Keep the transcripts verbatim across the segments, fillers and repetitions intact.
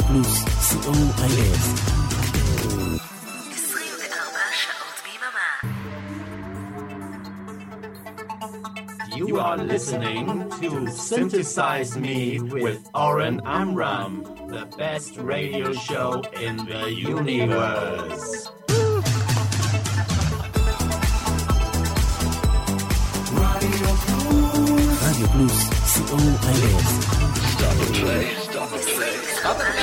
פלוס, סי או איי אס. עשרים וארבע שעות ביממה. You are listening to Synthesize Me with Oren Amram, the best radio show in the universe. רדיו פלוס, סי או איי אס. Stop and play, stop and play, stop and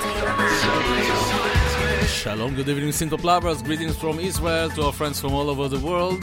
play. Shalom, good evening, Synthop lovers. Greetings from Israel to our friends from all over the world.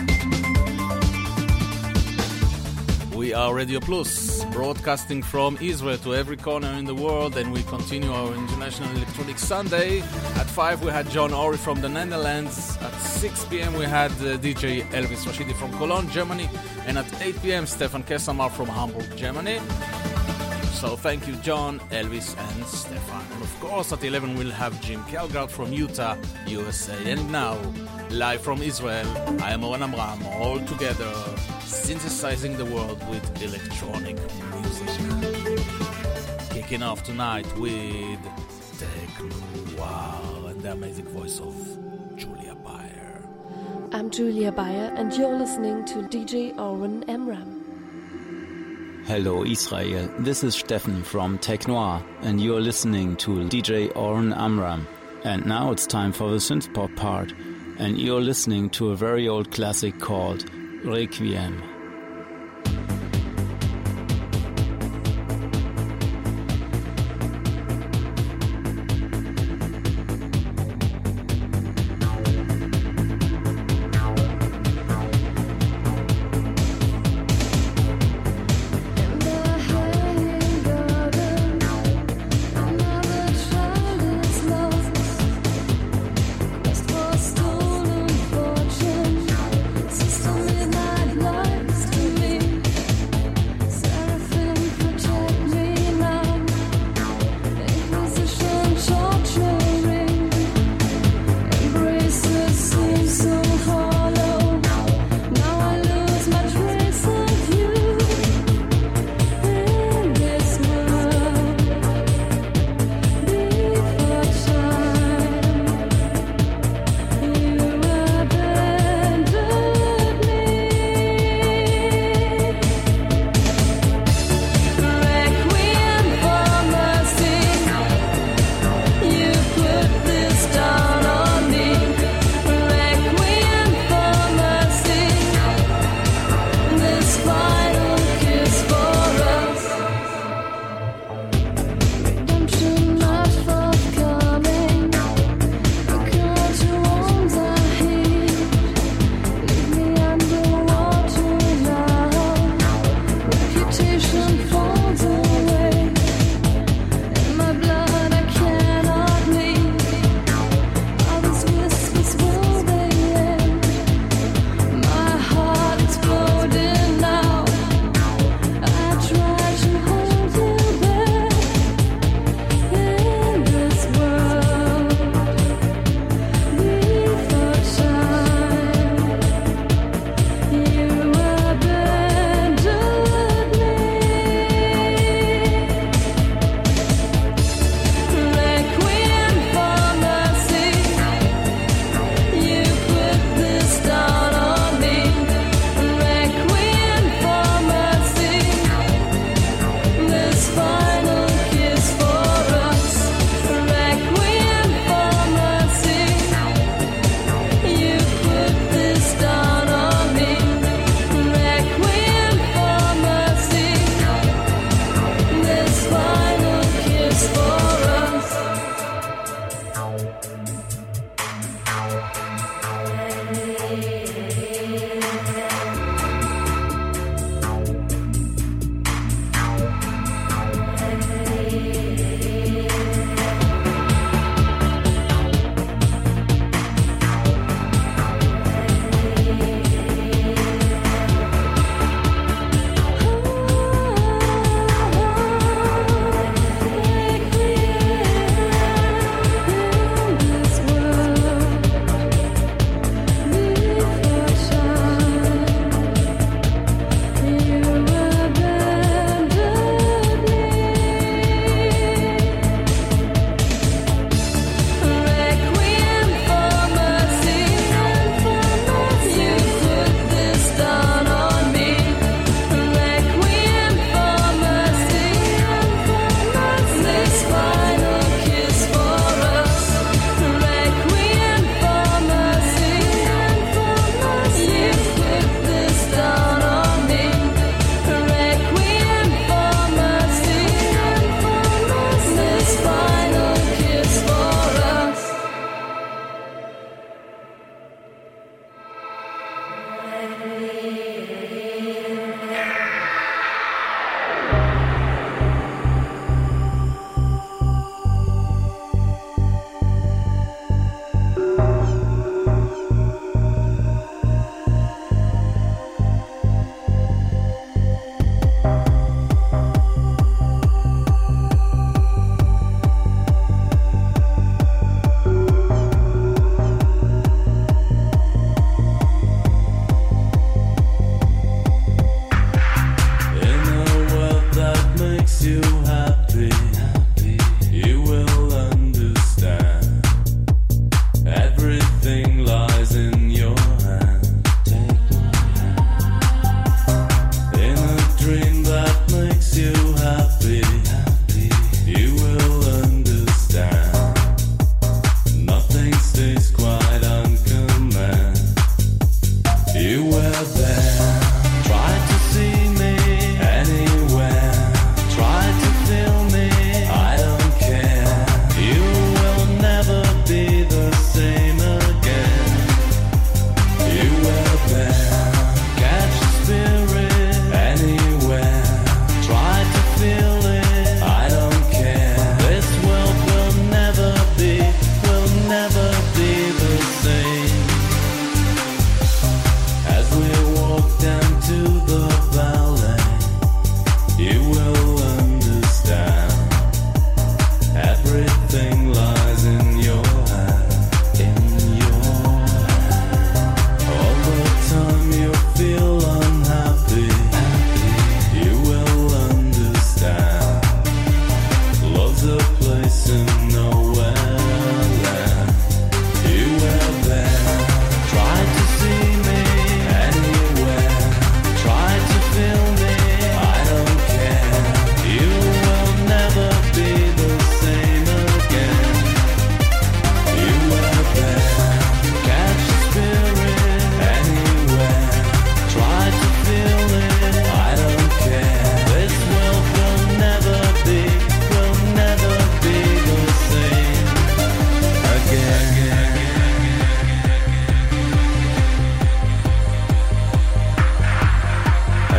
We are Radio Plus, broadcasting from Israel to every corner in the world, and we continue our International Electronic Sunday. At five we had John Ori from the Netherlands. At six p.m. we had uh, D J Elvis Rashidi from Cologne, Germany. And at eight p.m. Stefan Kessamar from Hamburg, Germany. So thank you, John, Elvis, and Stefan. And of course, at eleven we'll have Jim Kelgard from Utah, U S A. And now, live from Israel, I am Oren Amram, all together, synthesizing the world with electronic music. Kicking off tonight with Techno Wow and the amazing voice of Julia Bayer. I'm Julia Bayer, and you're listening to D J Oren Amram. Hello Israel, this is Steffen from Tech Noir, and you're listening to D J Oren Amram. And now it's time for the synthpop part, and you're listening to a very old classic called Requiem. Stolen fortune, system midnight life.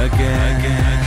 again. again.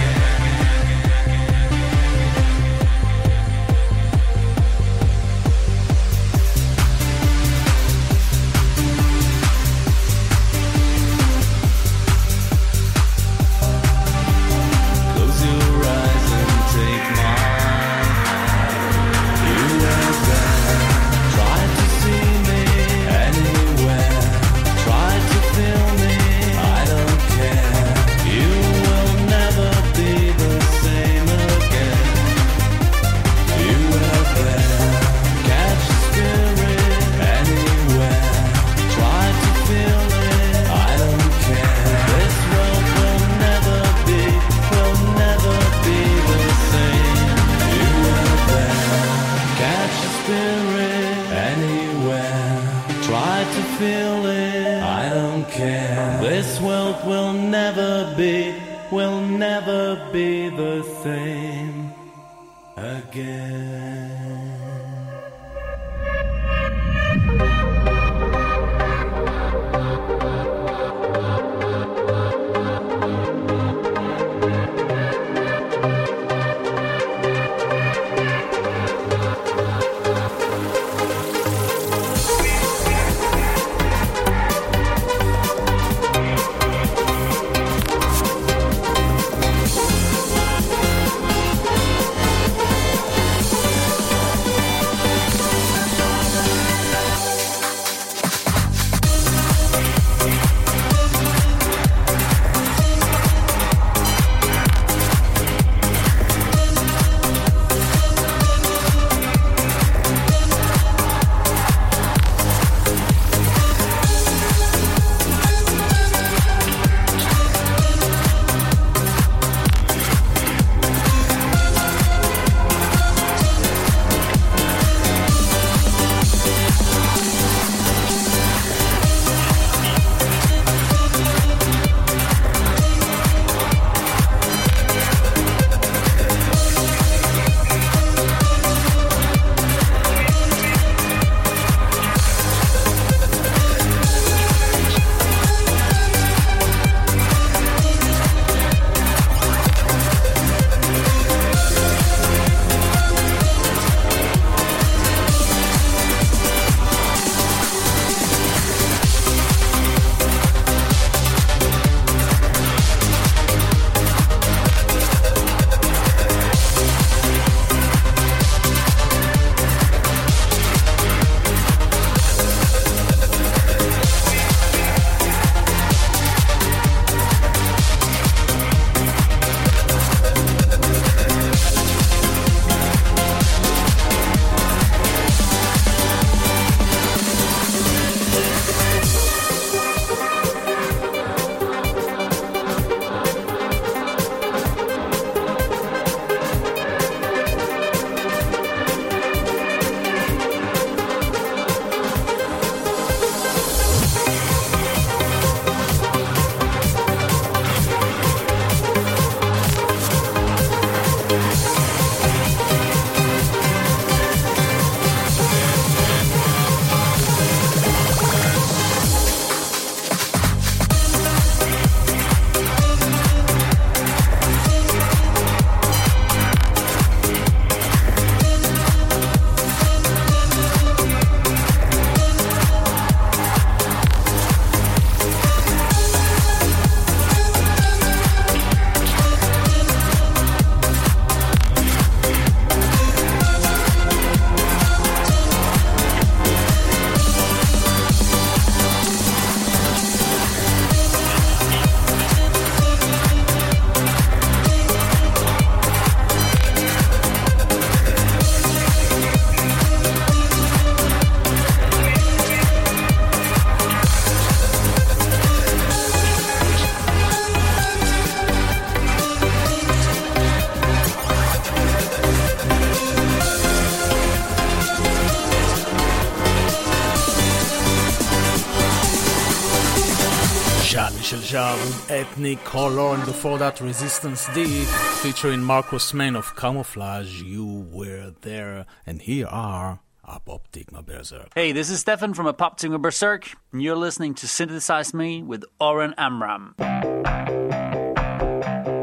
של ז'אר with Ethnic Color, and before that Resistance D featuring Marcus Main of Camouflage, You Were There, and here are Apoptygma Berserk. Hey, this is Stefan from Apoptygma Berserk, and you're listening to Synthesize Me with Oren Amram.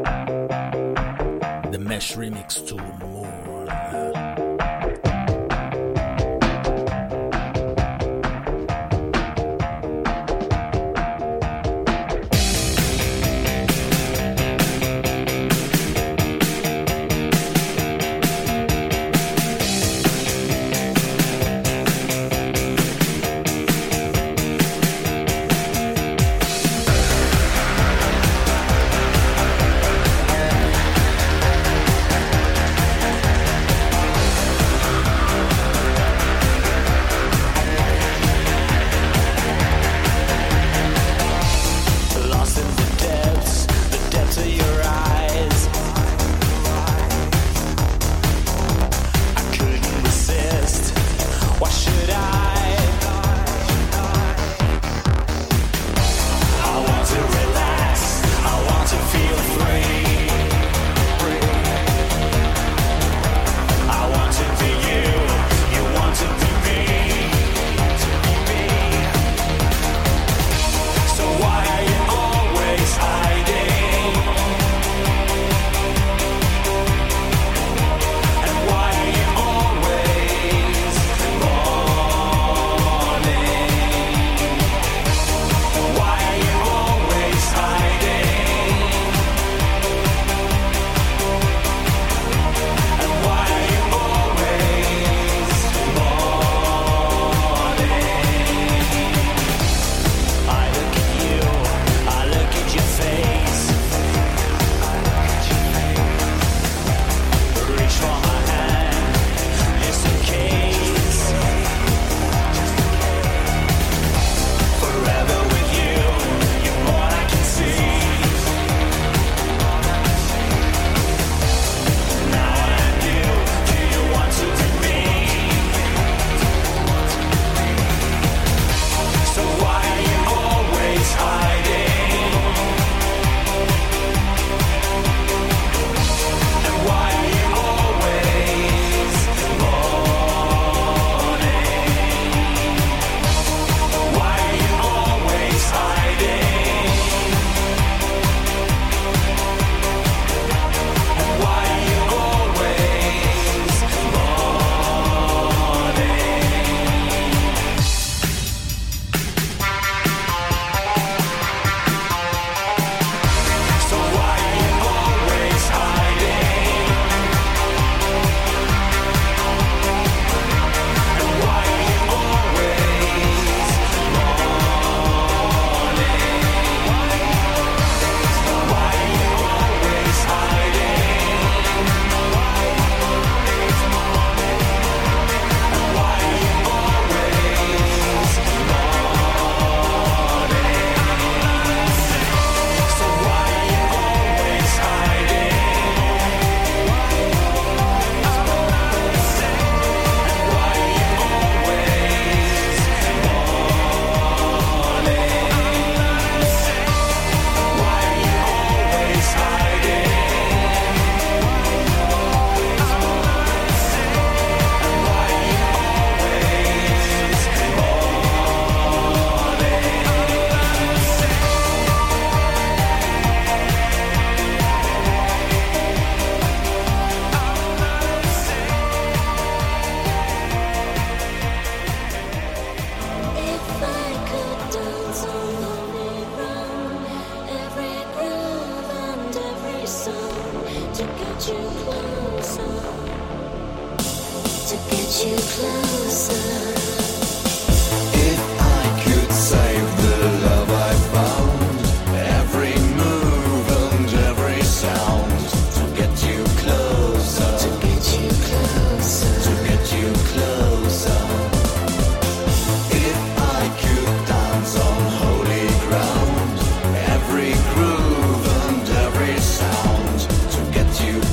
Mesh remix to More.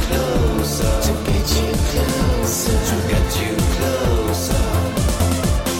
To get you closer.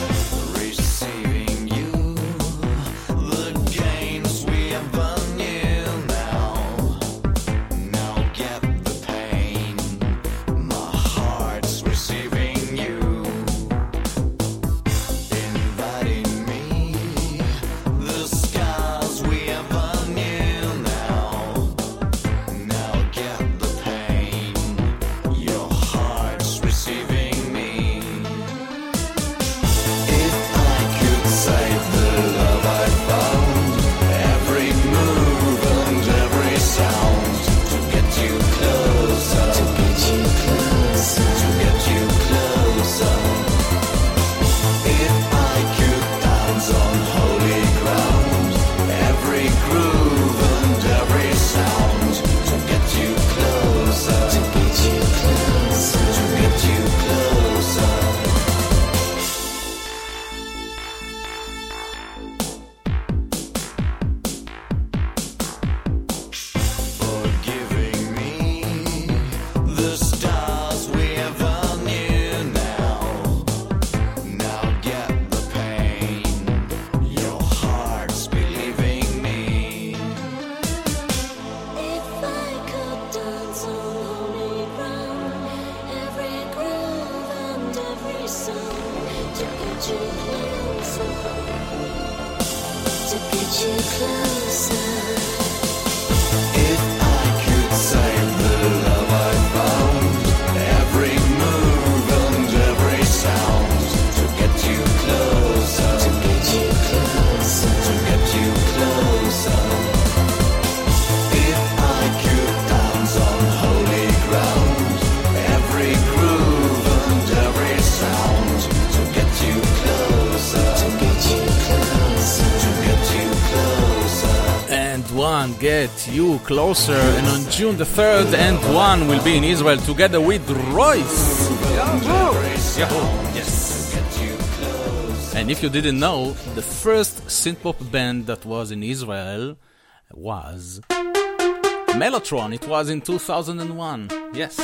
Get You Closer, and on June the third, Antoine will be in Israel together with Royce. Yahoo! Yahoo! Yes. And if you didn't know, the first synth-pop band that was in Israel was Mellotron. It was in two thousand one. Yes.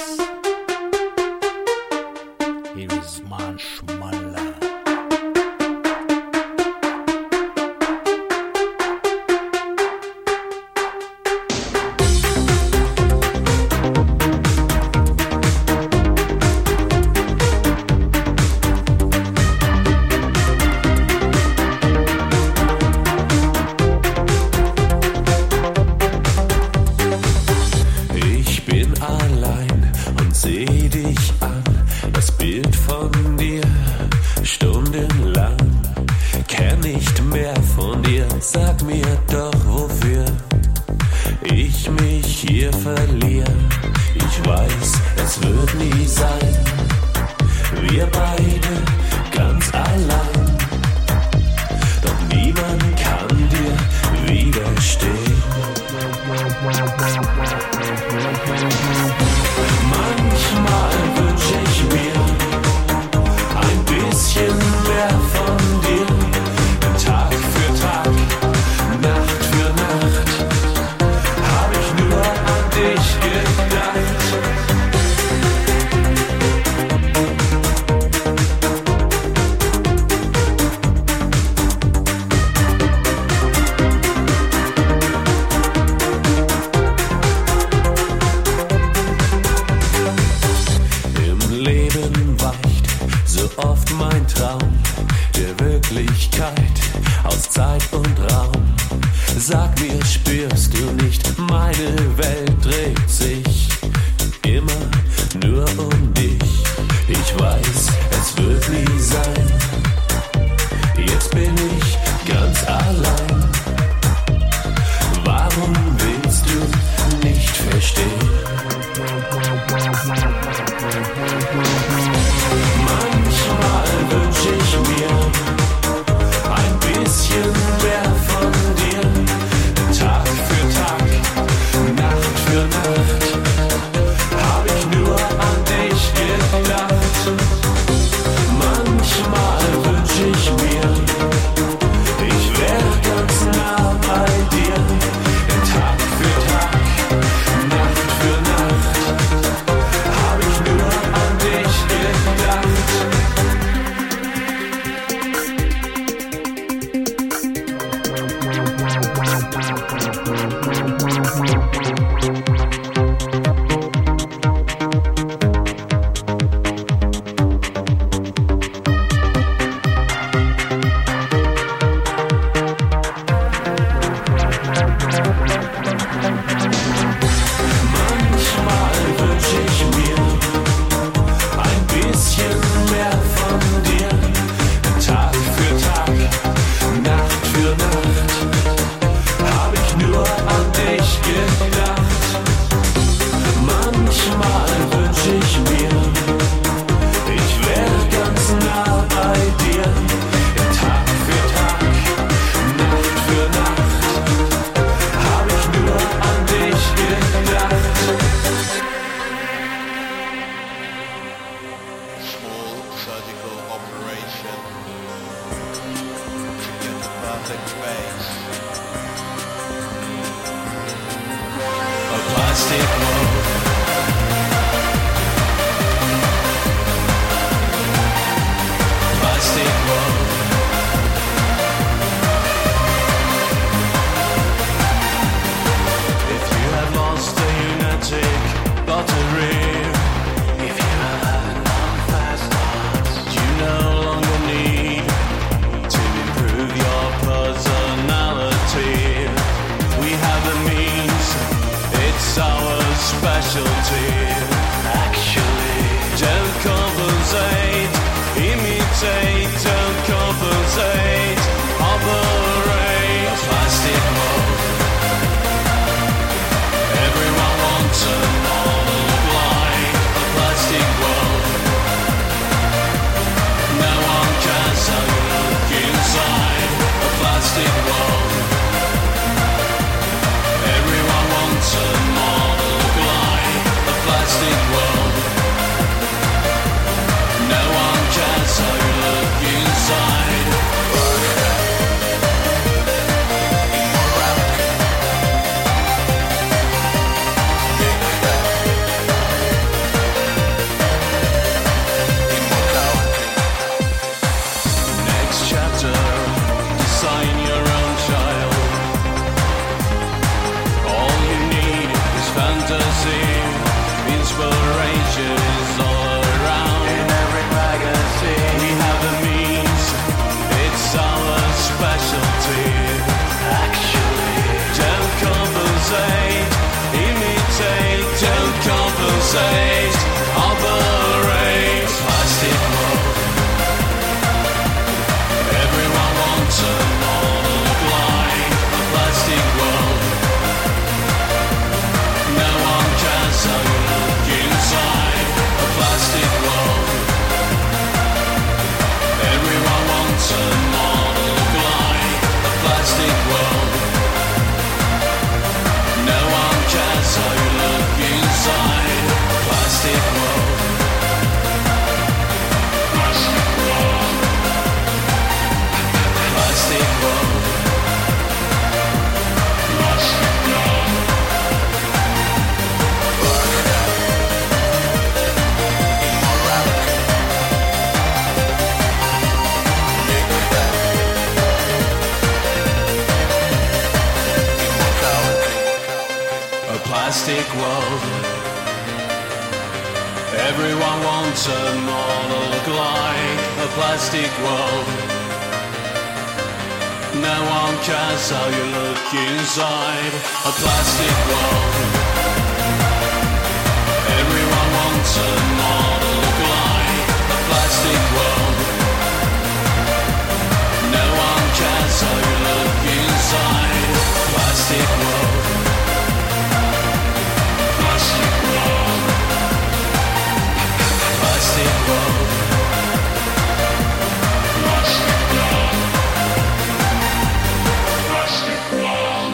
Here is Marshmallow. Sag mir doch, wofür ich mich hier verliere. Ich weiß, es wird nie sein, wir beide ganz allein. Doch niemand kann dir widerstehen. Manchmal wünsch ich mir ein bisschen mehr von dir. Tag für Tag, Nacht für Nacht, hab ich nur an dich gedacht. Im Leben weicht so oft mein Traum der Wirklichkeit aus Zeit und Raum. Sag mir, spürst du nicht, meine Welt dreht sich immer nur um dich. Ich weiß, es wird nie sein, jetzt bin ich ganz allein. Warum willst du nicht verstehen? Manchmal wünsch ich mir ein bisschen mehr von dir. Tag für Tag, Nacht für Nacht, hab ich nur an dich gedacht. Manchmal wünsch ich mir, ich wär ganz nah bei dir. Tag für Tag, Nacht für Nacht, hab ich nur an dich gedacht. Every plastic world. Everyone wants a model look like a plastic world. No one cares how you look inside a plastic world. Everyone wants a model look like a plastic world. No one cares how you look inside plastic world. Plastic world. Plastic world. Plastic world. Plastic world.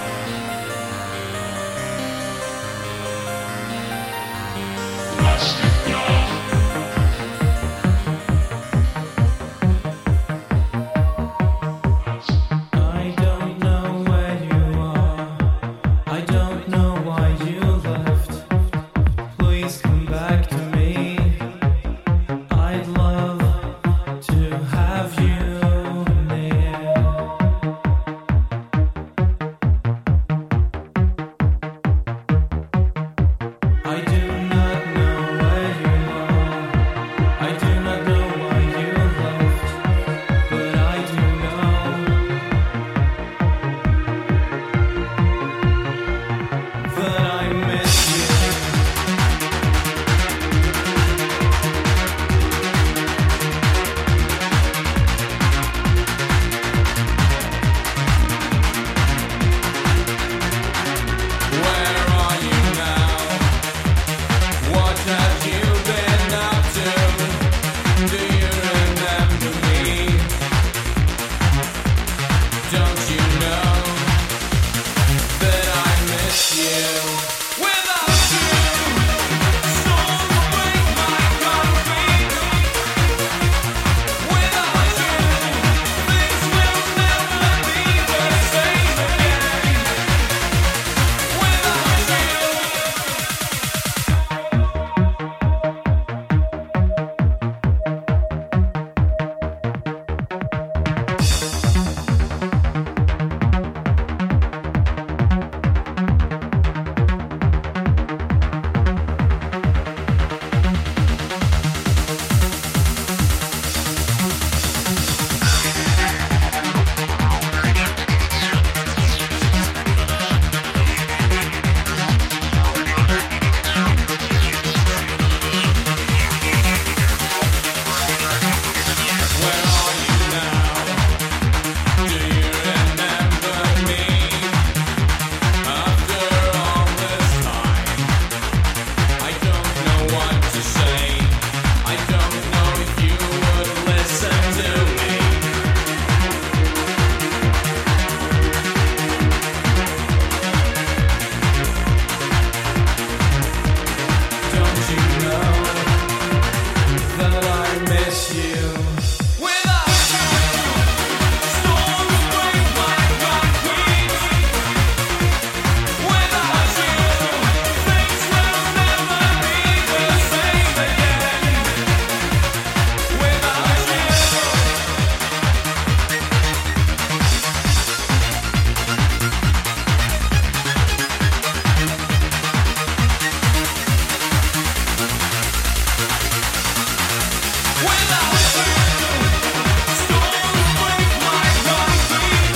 Plastic world. I don't know where you are. I don't know why you left. Please come back to me. I'd love to have you near. I do not know where you are. I do not know why you left, but I do know that I miss you. Where are you now? What have you been up to? Do you remember me? Don't you know that I miss you? Without you, storms break my concrete. Without you, things will never be the same again. Without you. Where are you now? Do you remember me? After all this time, I don't know what to say. I don't know if you would listen to me. Don't you know that I miss you? Without you, storms break my concrete. Without you, things will never be the same again. Without you. Without you, storms break my concrete.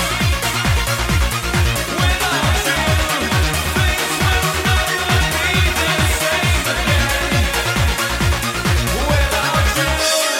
Without you, things will never be the same again. Without you.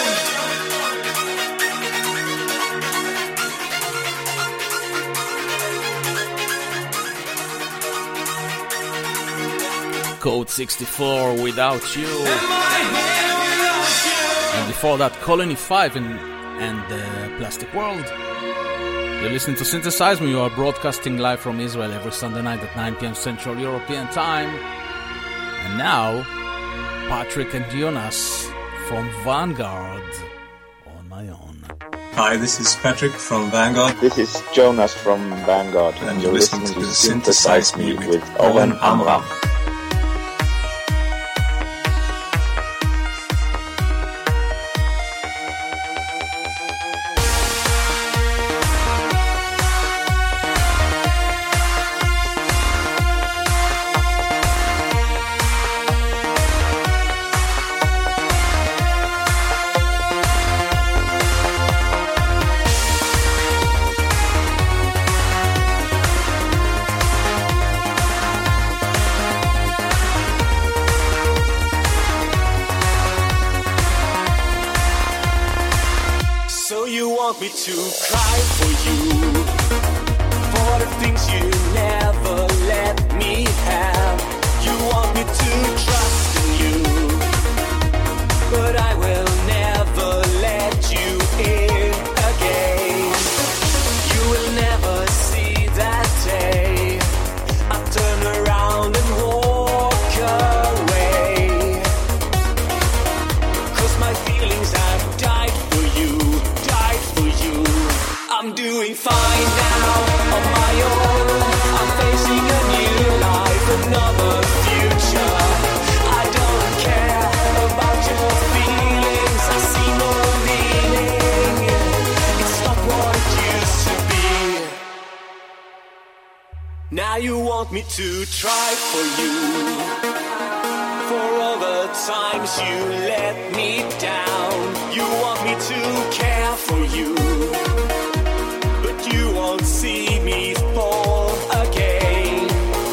Code sixty-four, Without You. Am I here without you? And before that, Colony five and, and uh, Plastic World. You're listening to Synthesize Me. You are broadcasting live from Israel every Sunday night at nine p.m. Central European Time. And now, Patrick and Jonas from Vanguard on my own. Hi, this is Patrick from Vanguard. This is Jonas from Vanguard, and you're listening to Synthesize Me with Oren Amram. want me to cry for you, for the things you never let me have. You want me to trust in you, but I will never let you in again. You will never see that day I turn around and walk away, 'cause my feelings have died for you, died for you. I'm doing fine now on my own. I'm facing a new life, another future. I don't care about your feelings. I see no meaning. It's not what it used to be. Now you want me to try for you, for all the times you let me down. You want me to care for you, but you won't see me fall again.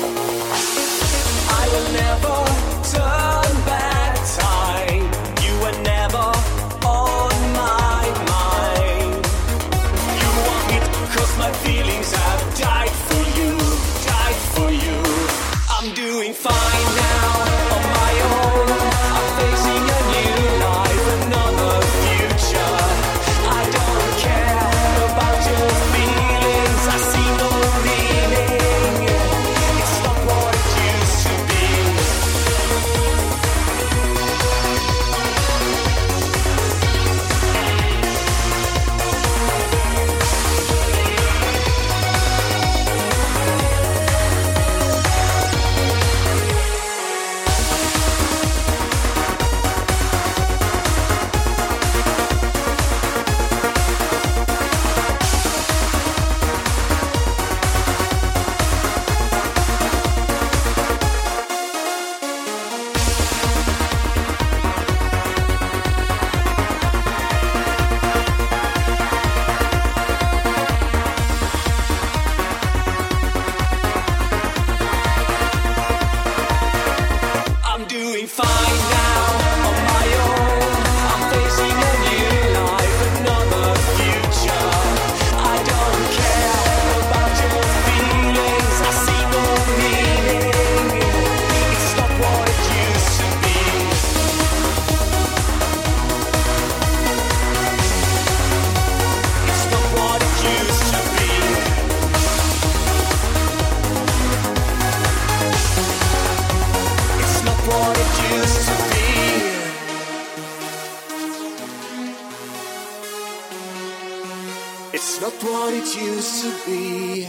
I will never turn back time. You were never on my mind. You want me, 'cause my feelings have died for you, died for you. I'm doing fine now on my own. I'm facing a new life, another future. I don't care about your feelings. I see no meaning. It's not what it used to be. I'm doing fine now on my own. I'm facing a new life, another future. I don't care about your feelings. I see no meaning. It's not what it used to be. It's not what it used to be. It's not what it used to be. It's not what it used to be.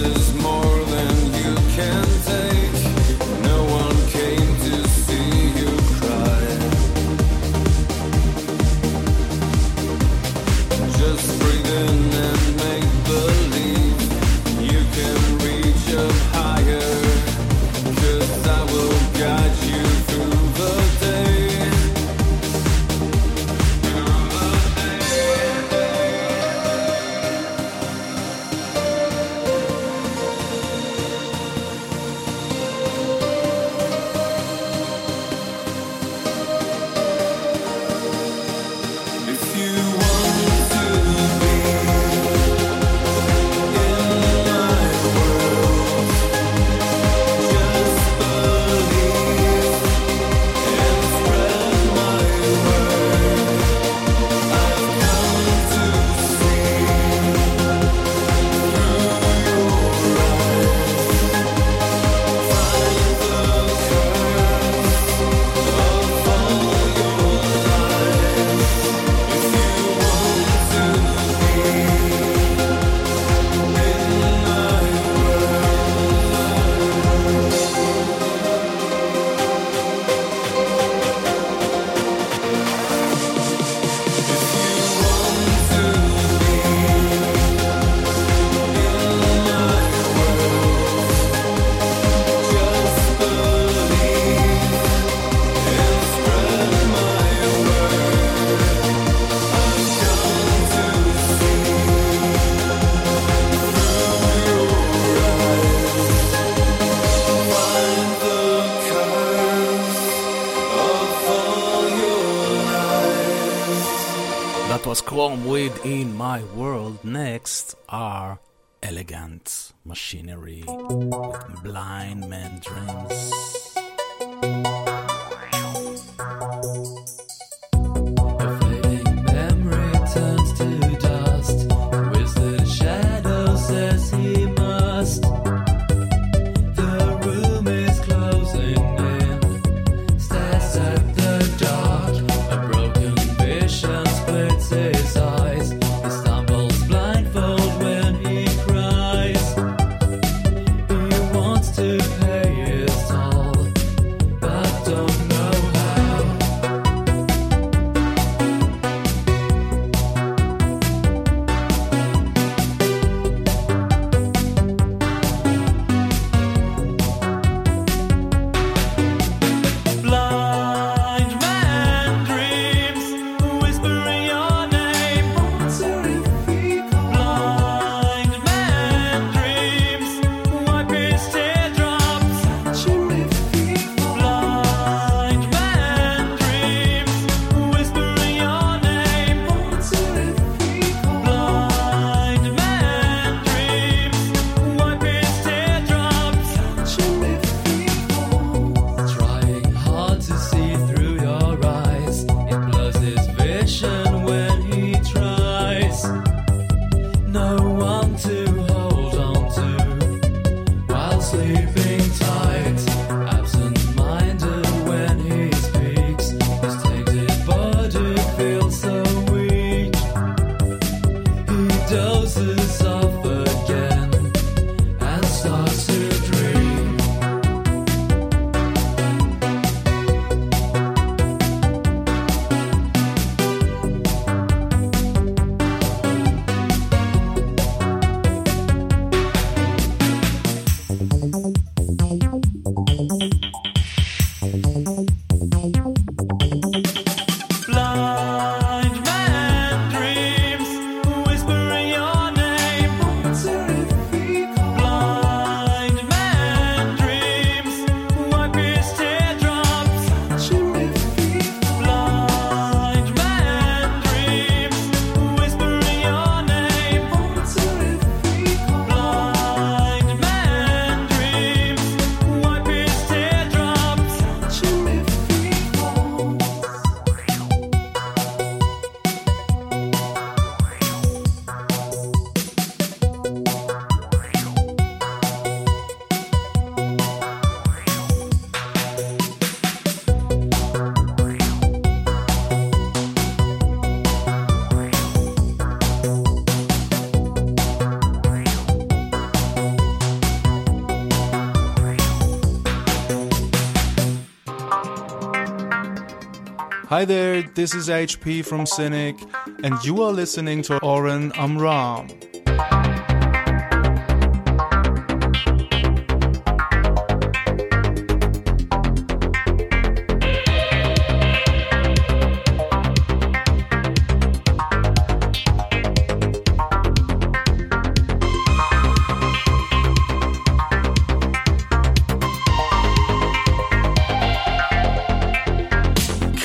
Chrome within my world. Next are Elegant Machinery with Blind Man Dreams. To pay it all, but Hi there, this is H P from Cynic, and you are listening to Oren Amram.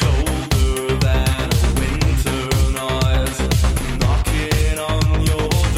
Colder than a winter night, knocking on your door.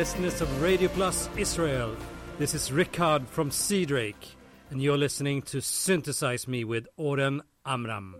listeners of Radio Plus Israel. This is Rickard from Seadrake, and you're listening to Synthesize Me with Oren Amram.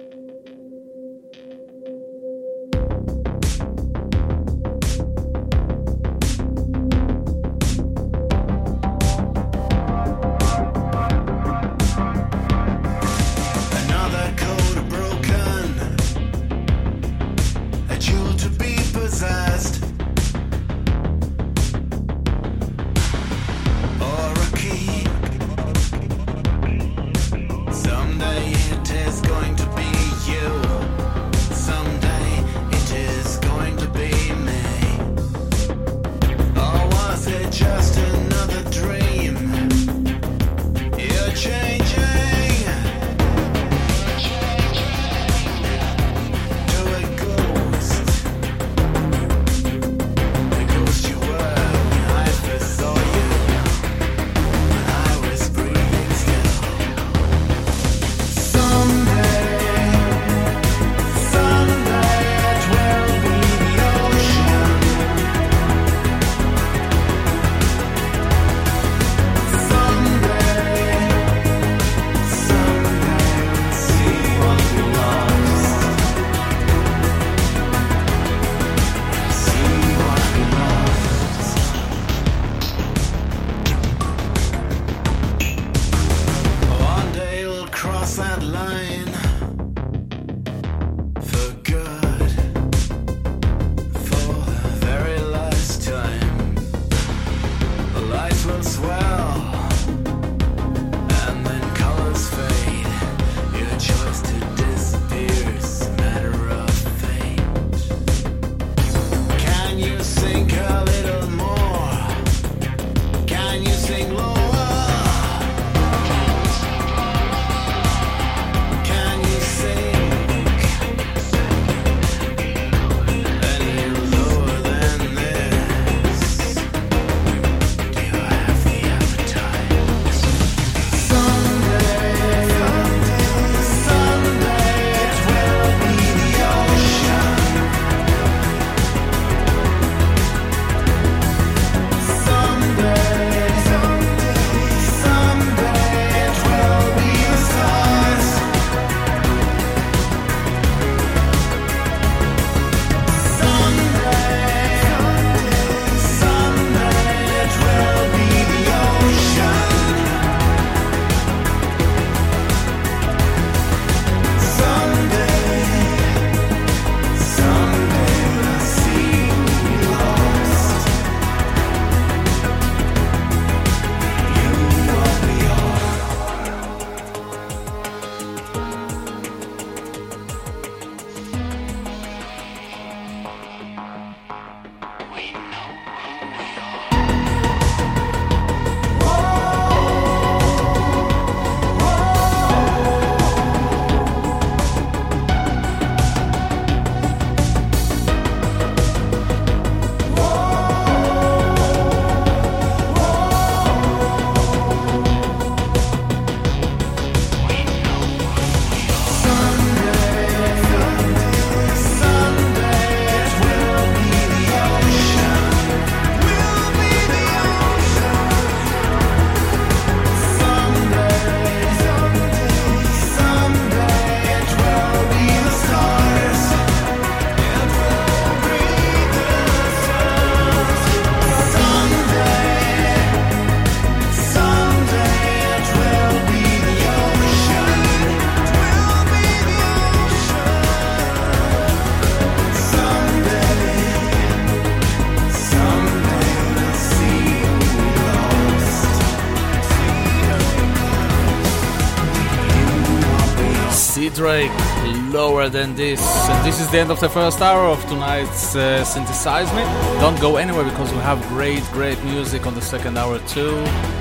Drake, Lower Than This. And this is the end of the first hour of tonight's uh, Synthesize Me. Don't go anywhere because we have great, great music on the second hour too.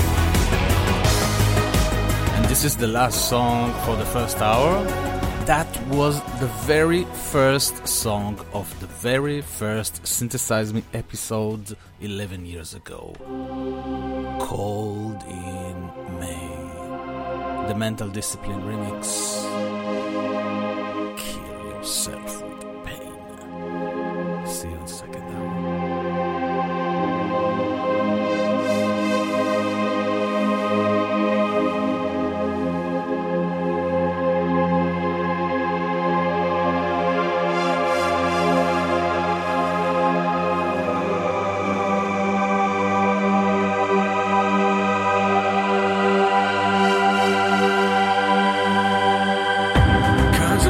And this is the last song for the first hour. That was the very first song of the very first Synthesize Me episode eleven years ago. Cold in May. The Mental Discipline remix. Yourself with pain. See you in the second hour.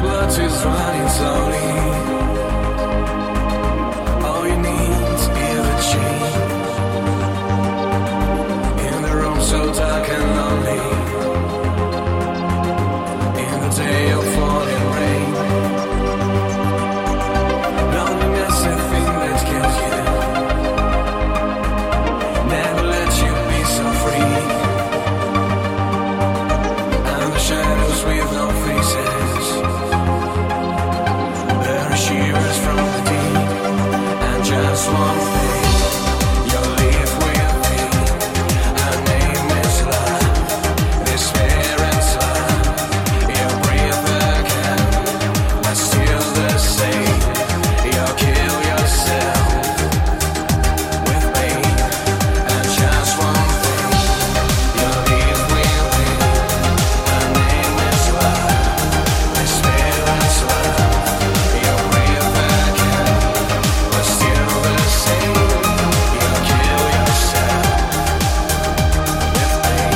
your blood is running slowly. All you need is a change. In the room so dark and lonely. In the day of falling rain. Loneliness is the thing that kills you. Never let you be so free. And the shadows with no faces. There are shivers from the deep. And just one thing, you'll live with me. Her name is love. Despair and love. You breathe again, but still the same. You'll kill yourself with pain. And just one thing, you'll live with me. Her name is love. Despair and love. You breathe again, but still the same. You'll kill yourself with pain.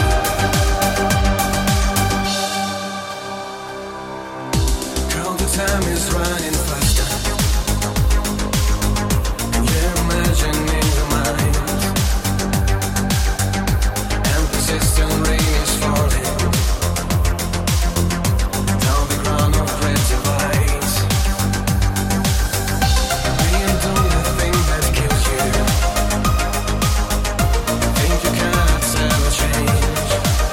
Girl, the time is running faster. And you're imagining your mind. And persistent rain is falling down the ground of red divides. Being done the thing that kills you. Think you cannot ever change.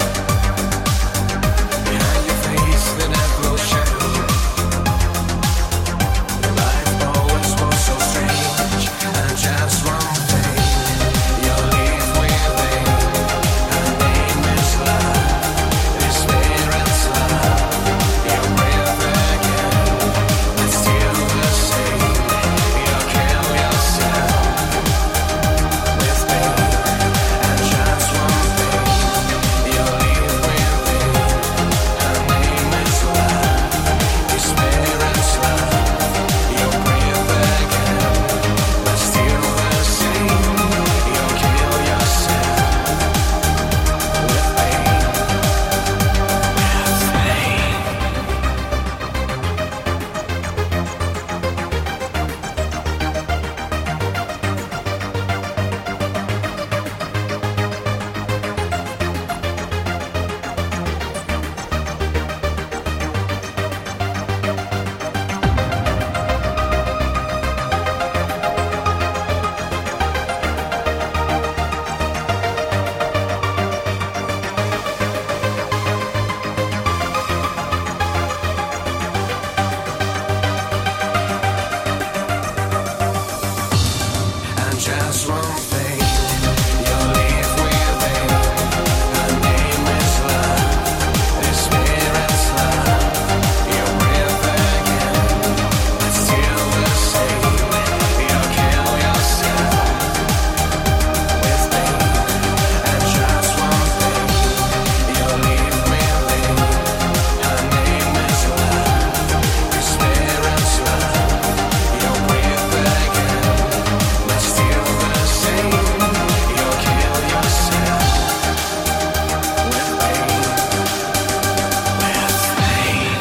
Behind your face the death will shadow. Life always was so strange. And just one thing, you'll live with me. Her name is love. Despair and love. You breathe again, but still the same. You'll kill yourself with pain. And just one thing, you'll live with me. Her name is love. Despair and love. You breathe again, but still the same. You'll kill yourself with pain. And just one thing, you'll live with me. Her name is love. Despair and love. You breathe again, but still the same. You'll kill yourself with pain. And just one thing, you'll live with me. Her name is love. Despair and love. You breathe again, but still the same. You'll kill yourself with pain. With pain.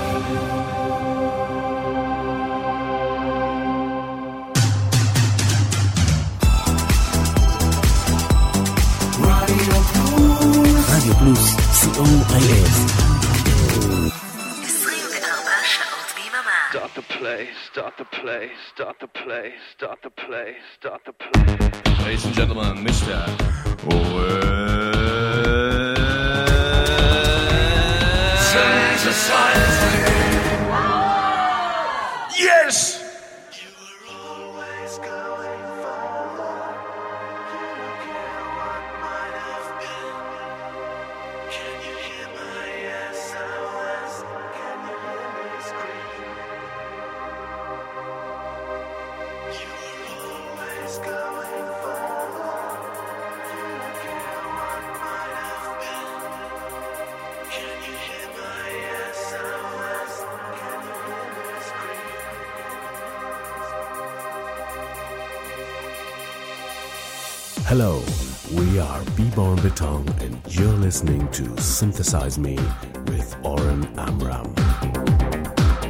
רדיו פלוס, סי או איי אס. עשרים וארבע שעות ביממה. Start the play, start the play, start the play, start the play, start the play. Ladies and gentlemen, Mister Yes! Hello, we are B-Born Beton and you're listening to Synthesize Me with Oren Amram.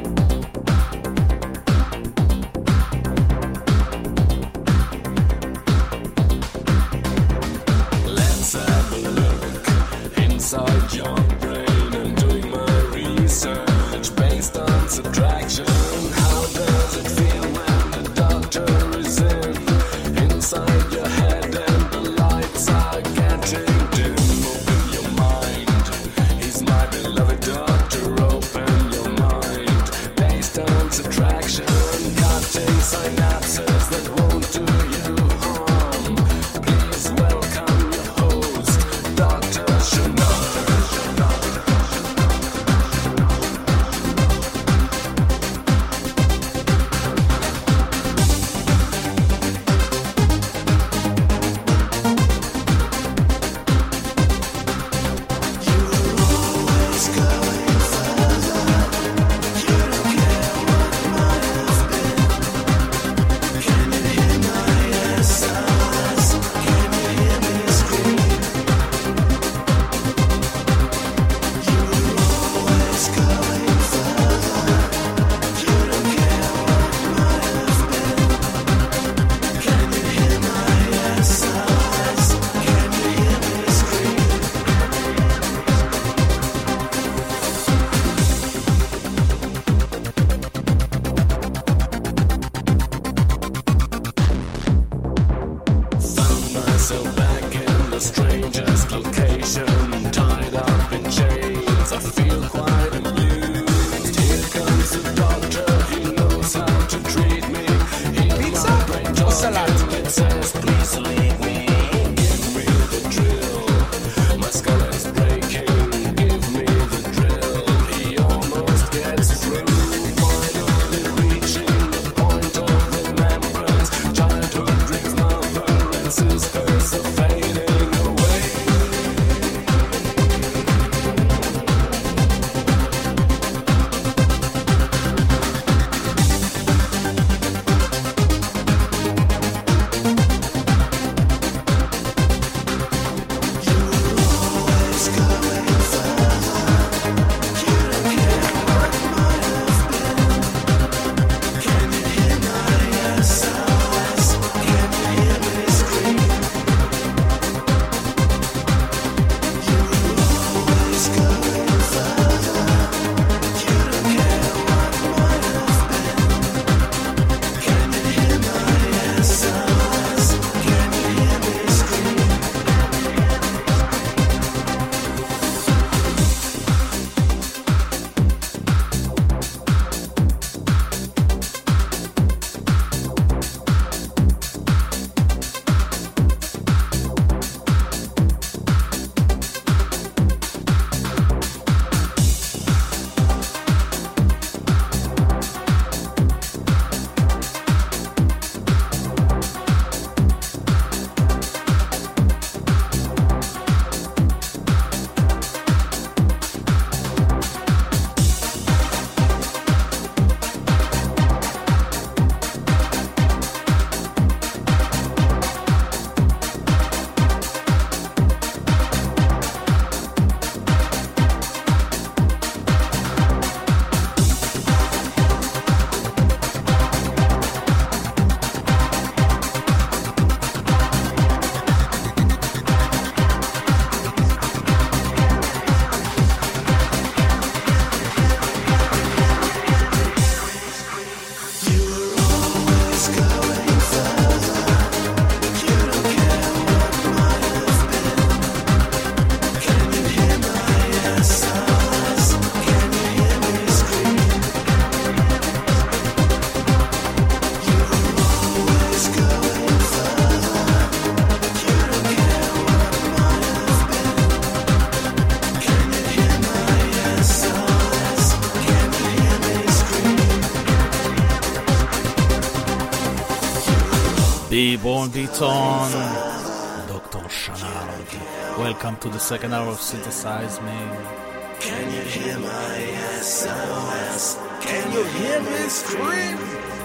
B-Born Beaton, Doctor Shanard. Welcome to the second hour of Synthesize Me. Can you hear my S O S? Can you hear me scream?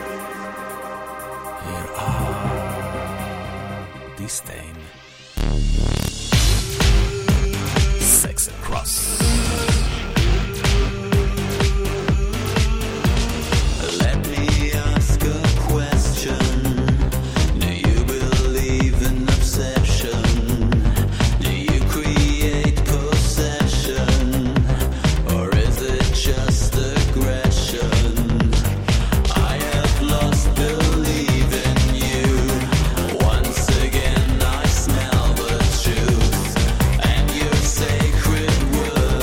Here are Disdain, Sex and Cross. Sacred word.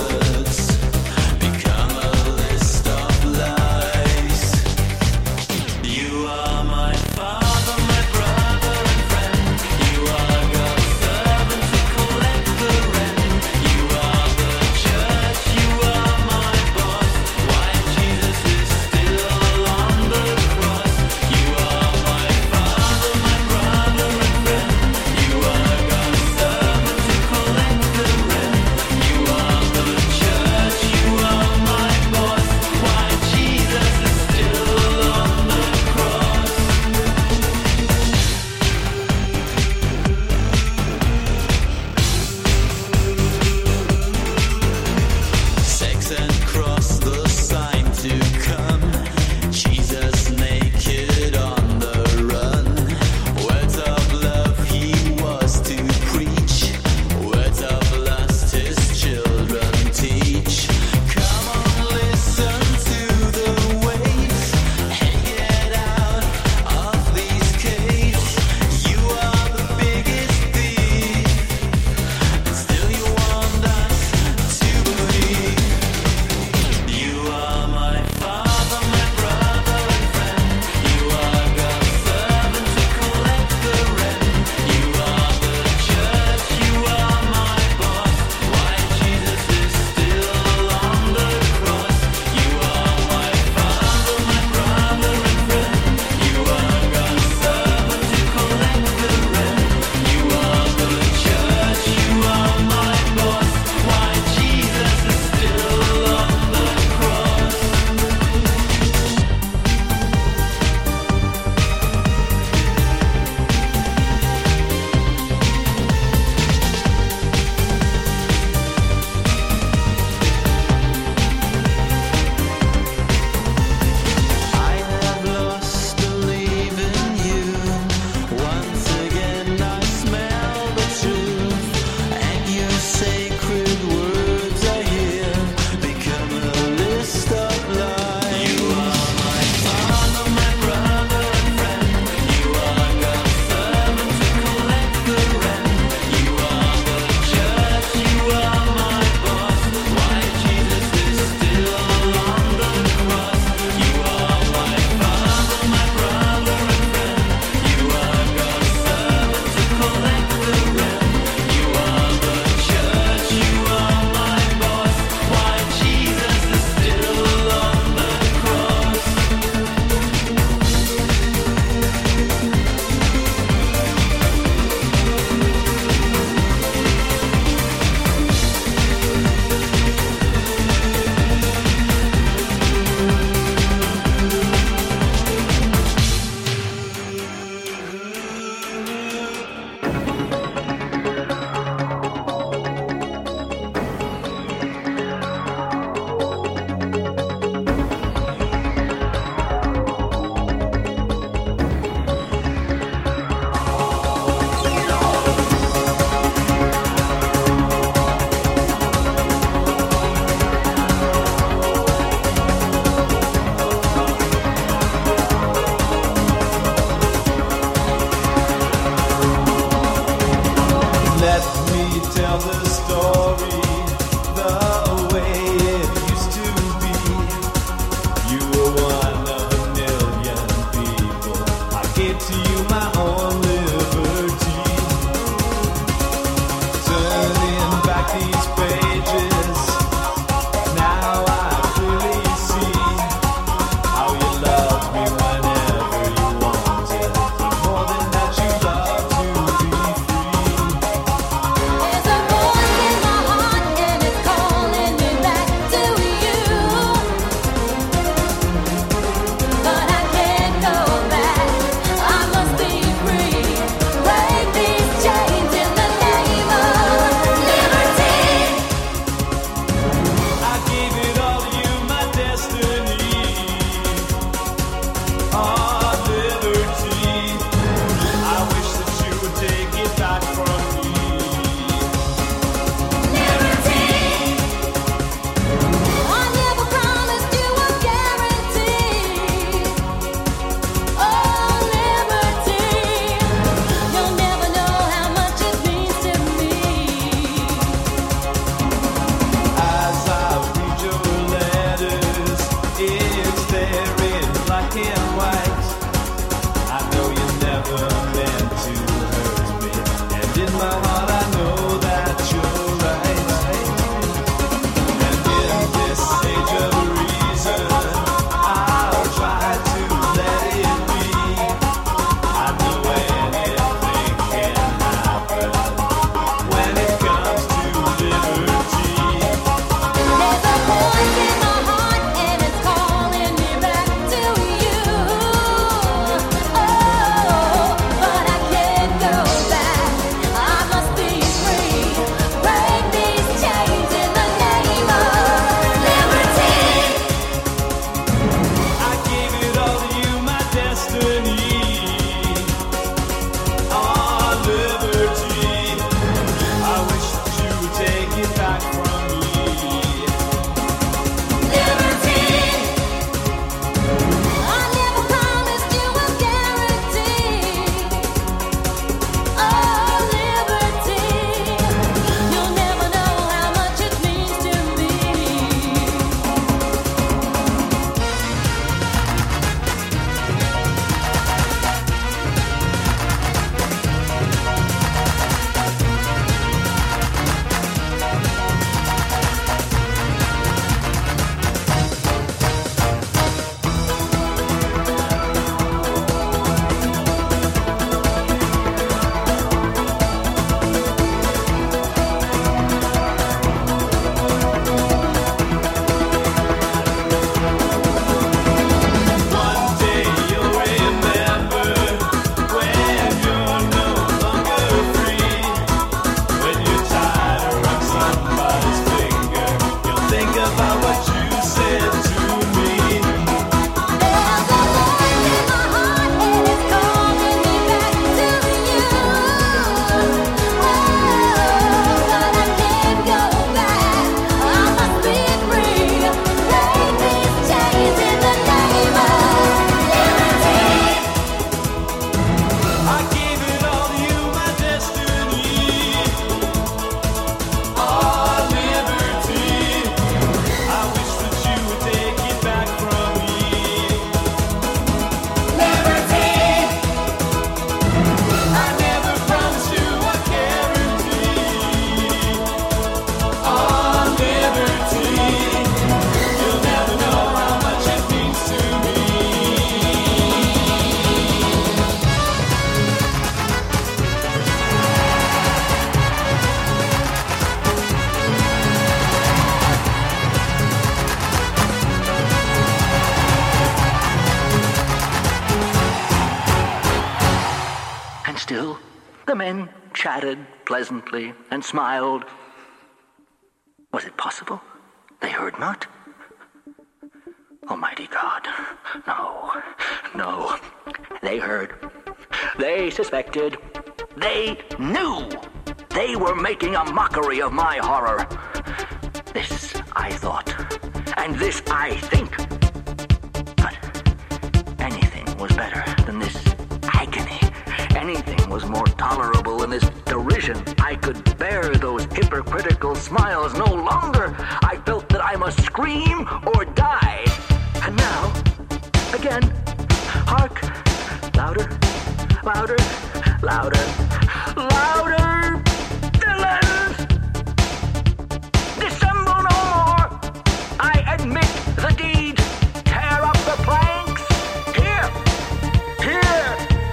The men chatted pleasantly and smiled. Was it possible they heard not? Almighty God, no, no. They heard. They suspected. They knew. They were making a mockery of my horror. This I thought, and this I think. But anything was better than this agony. Anything was more tolerable than this derision. I could bear those hypocritical smiles no longer. I felt that I must scream or die. And now, again, hark, louder, louder, louder, louder, villains! Dissemble no more! I admit the deed. Tear up the planks. Here, here.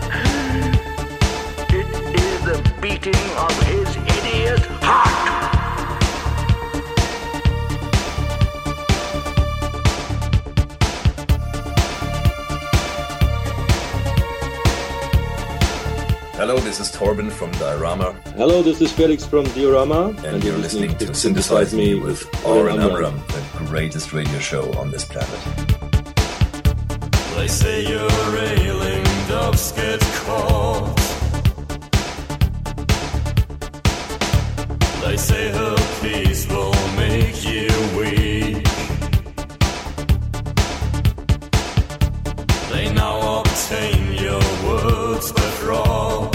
It is the beating of his idiot heart. Hello, this is Torben from Diorama. Hello, this is Felix from Diorama. And, and you're listening, listening to Synthesize Me with Oren Amram, the greatest radio show on this planet. They say you're railing, doves get caught. They say her peace will make you weak. They now obtain your words but wrong,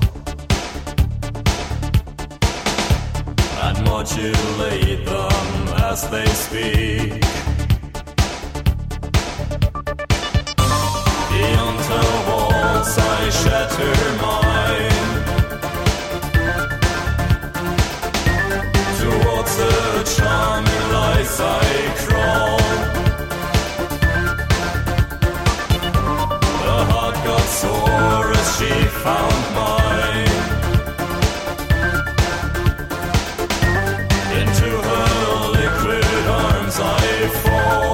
and modulate them as they speak. Beyond her walls I shatter mine. Towards her charming lies I crawl. Her heart got sore as she found mine. Into her liquid arms I fall.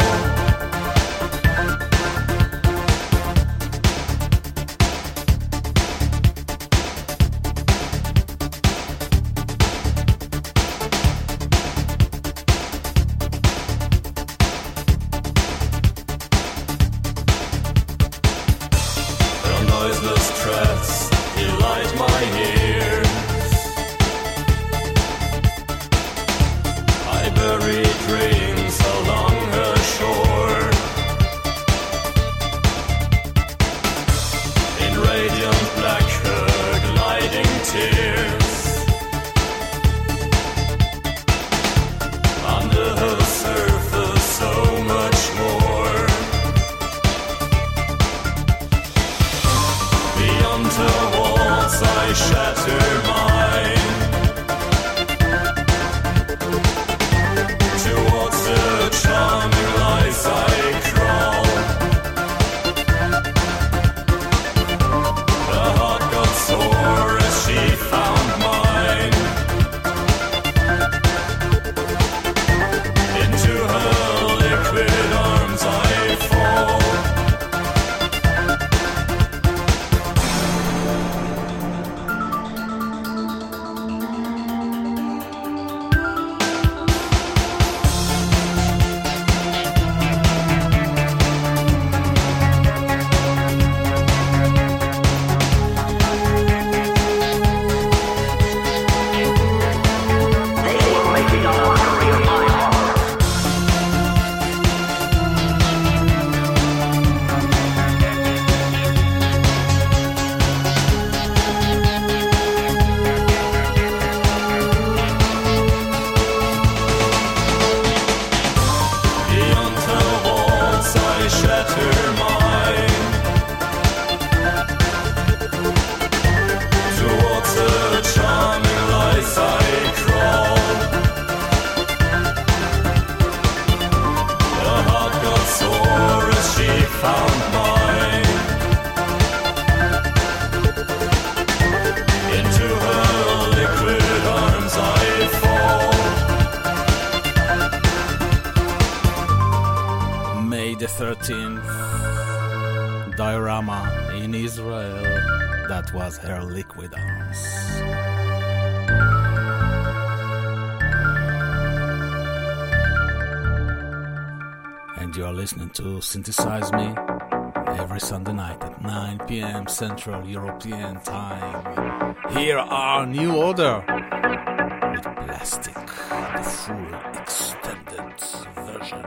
thirteenth, Diorama in Israel. That was her Liquid Arms. And you are listening to Synthesize Me every Sunday night at nine p.m. Central European Time. Here are New Order with Plastic, the full extended version.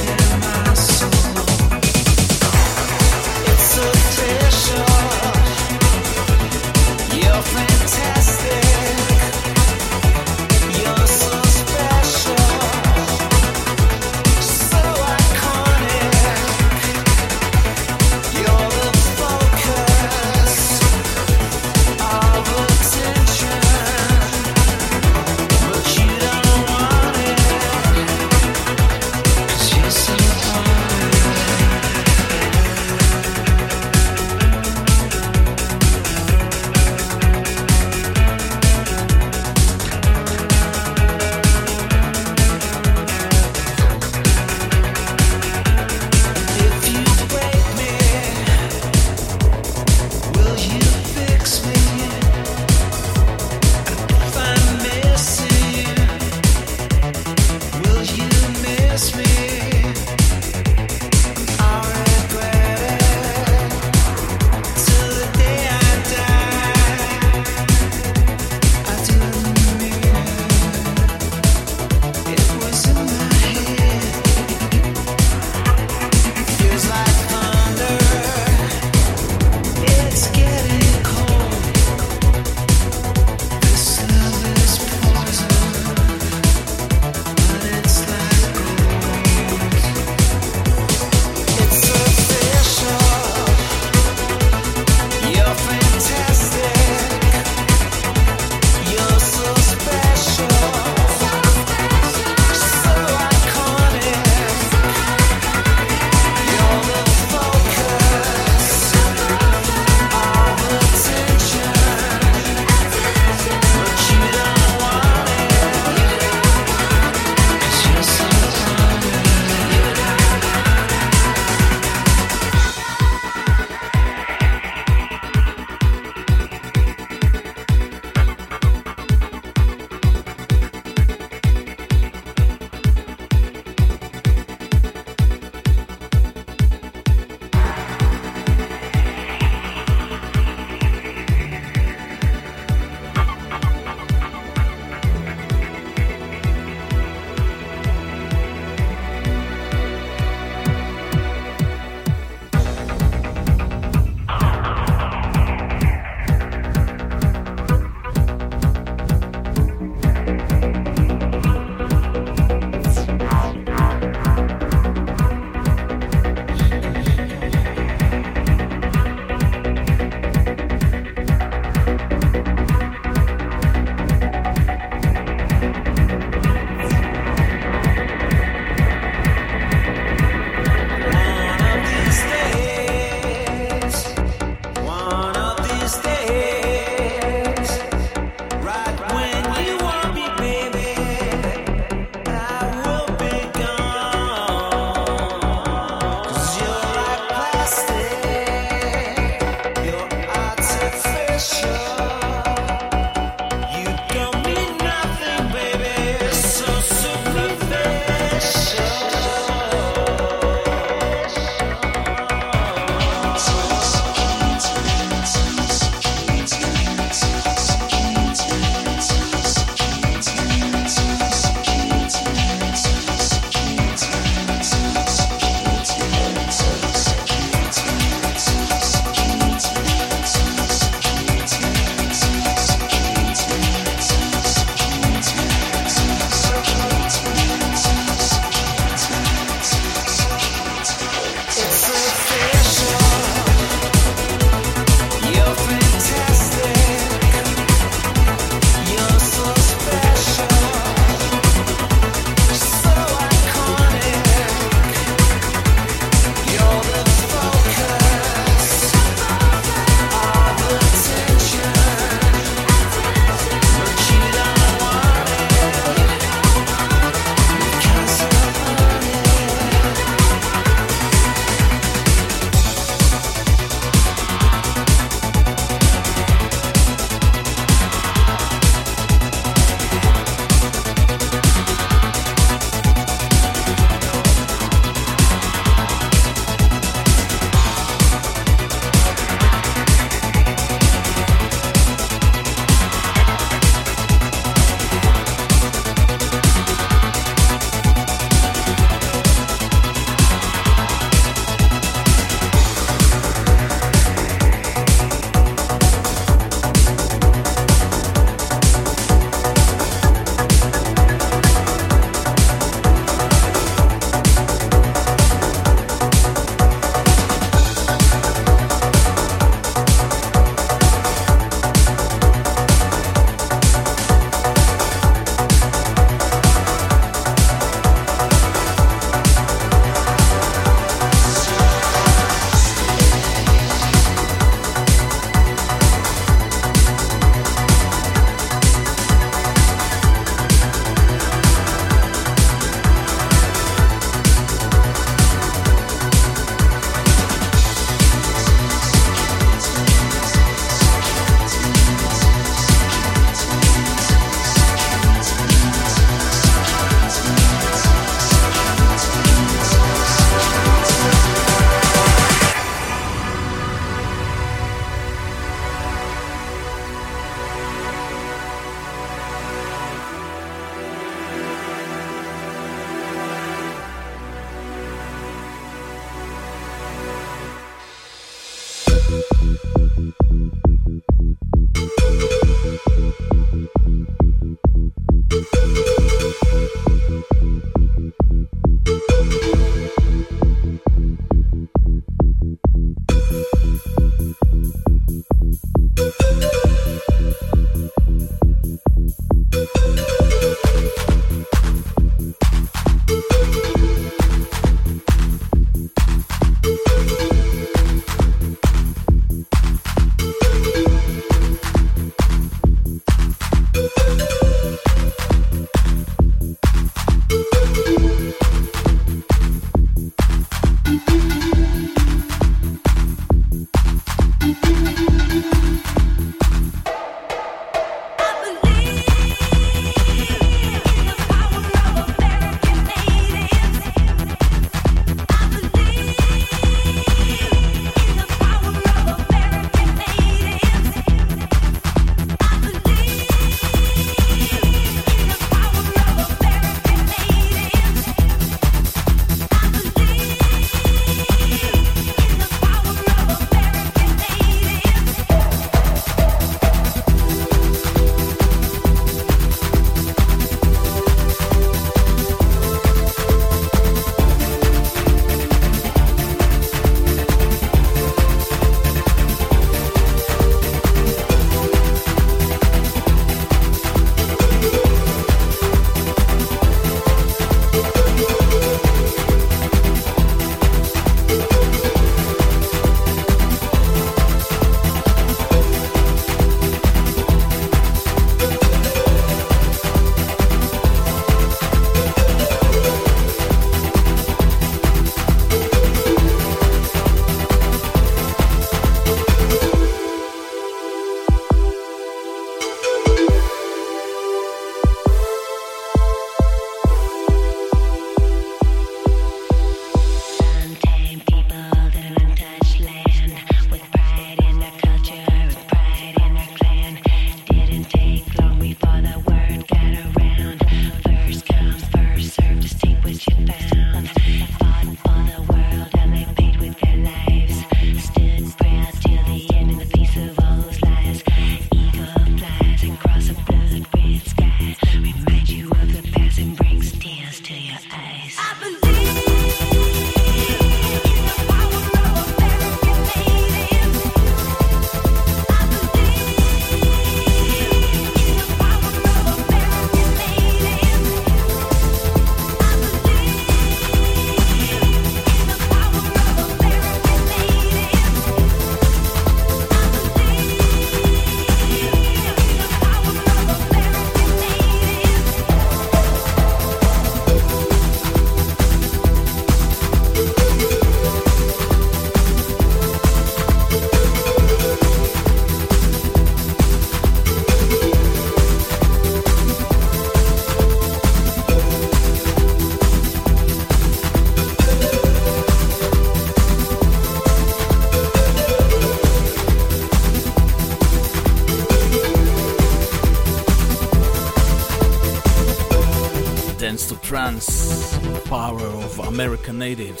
Dance to Trance, Power of American Natives,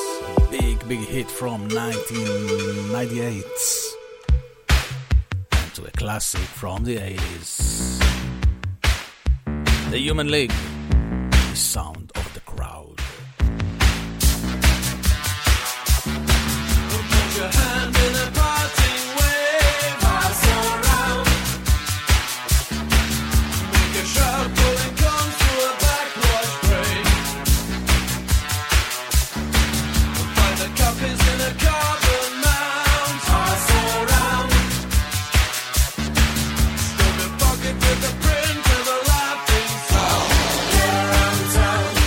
a big, big hit from nineteen ninety-eight, and to a classic from the eighties. The Human League, the sound of the crowd. Put your hand in a parting wave, pass around. Make a shout, pulling comes to a backwash break. Find the copies in a carbon mount, pass around. Still the pocket with the print of a laughing sound. Get around town.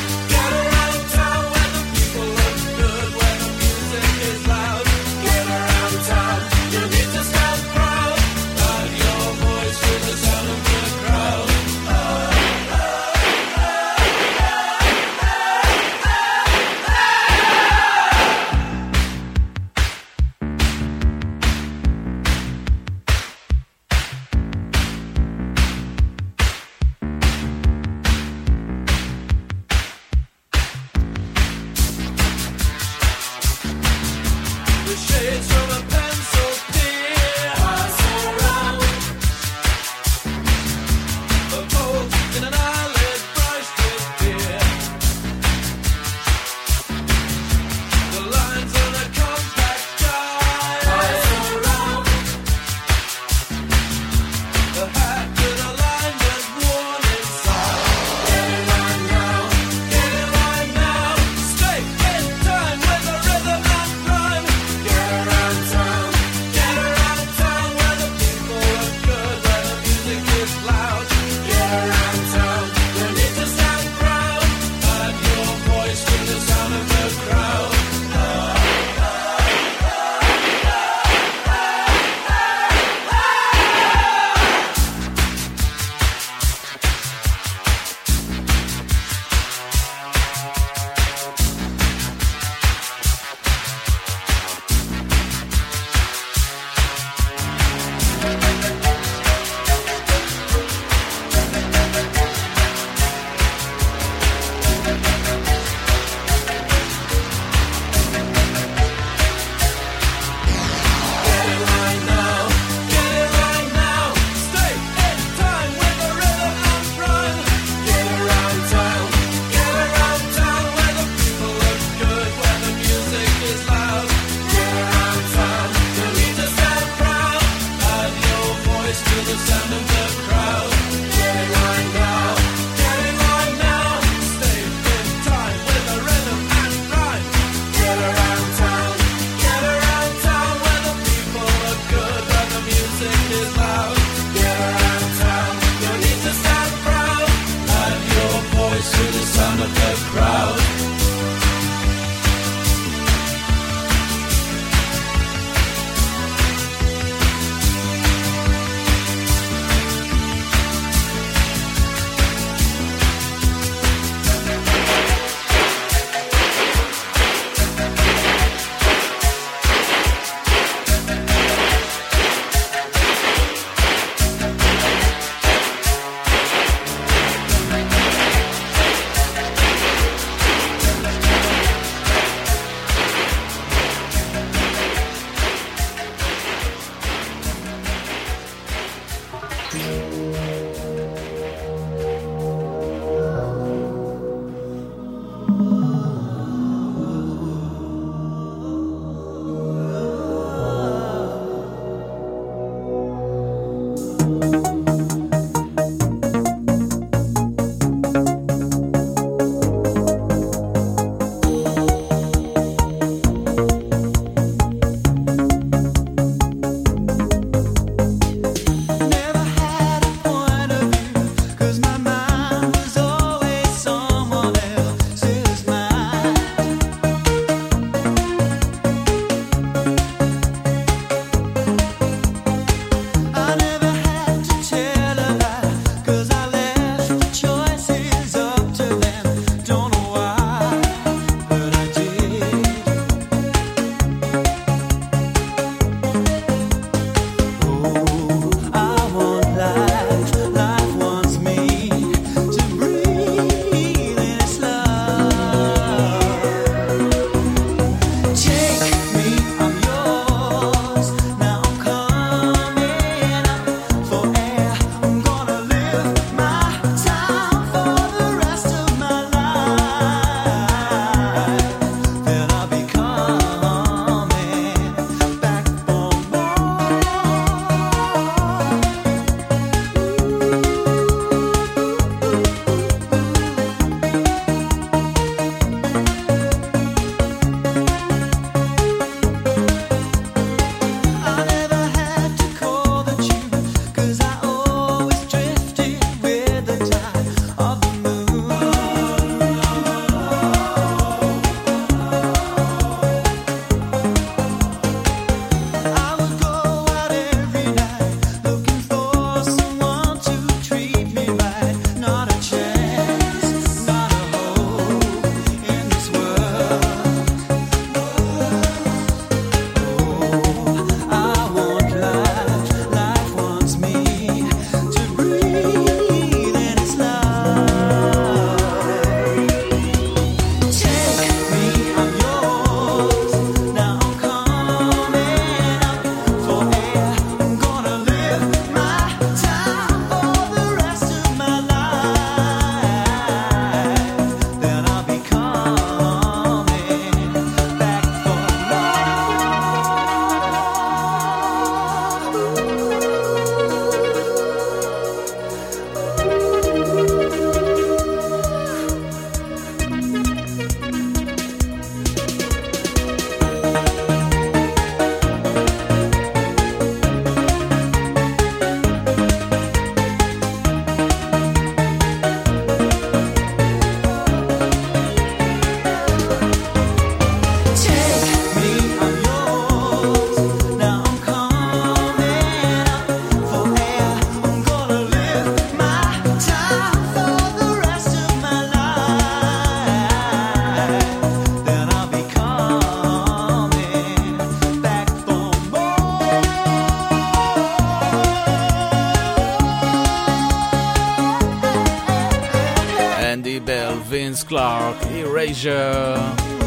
Clark, Erasure.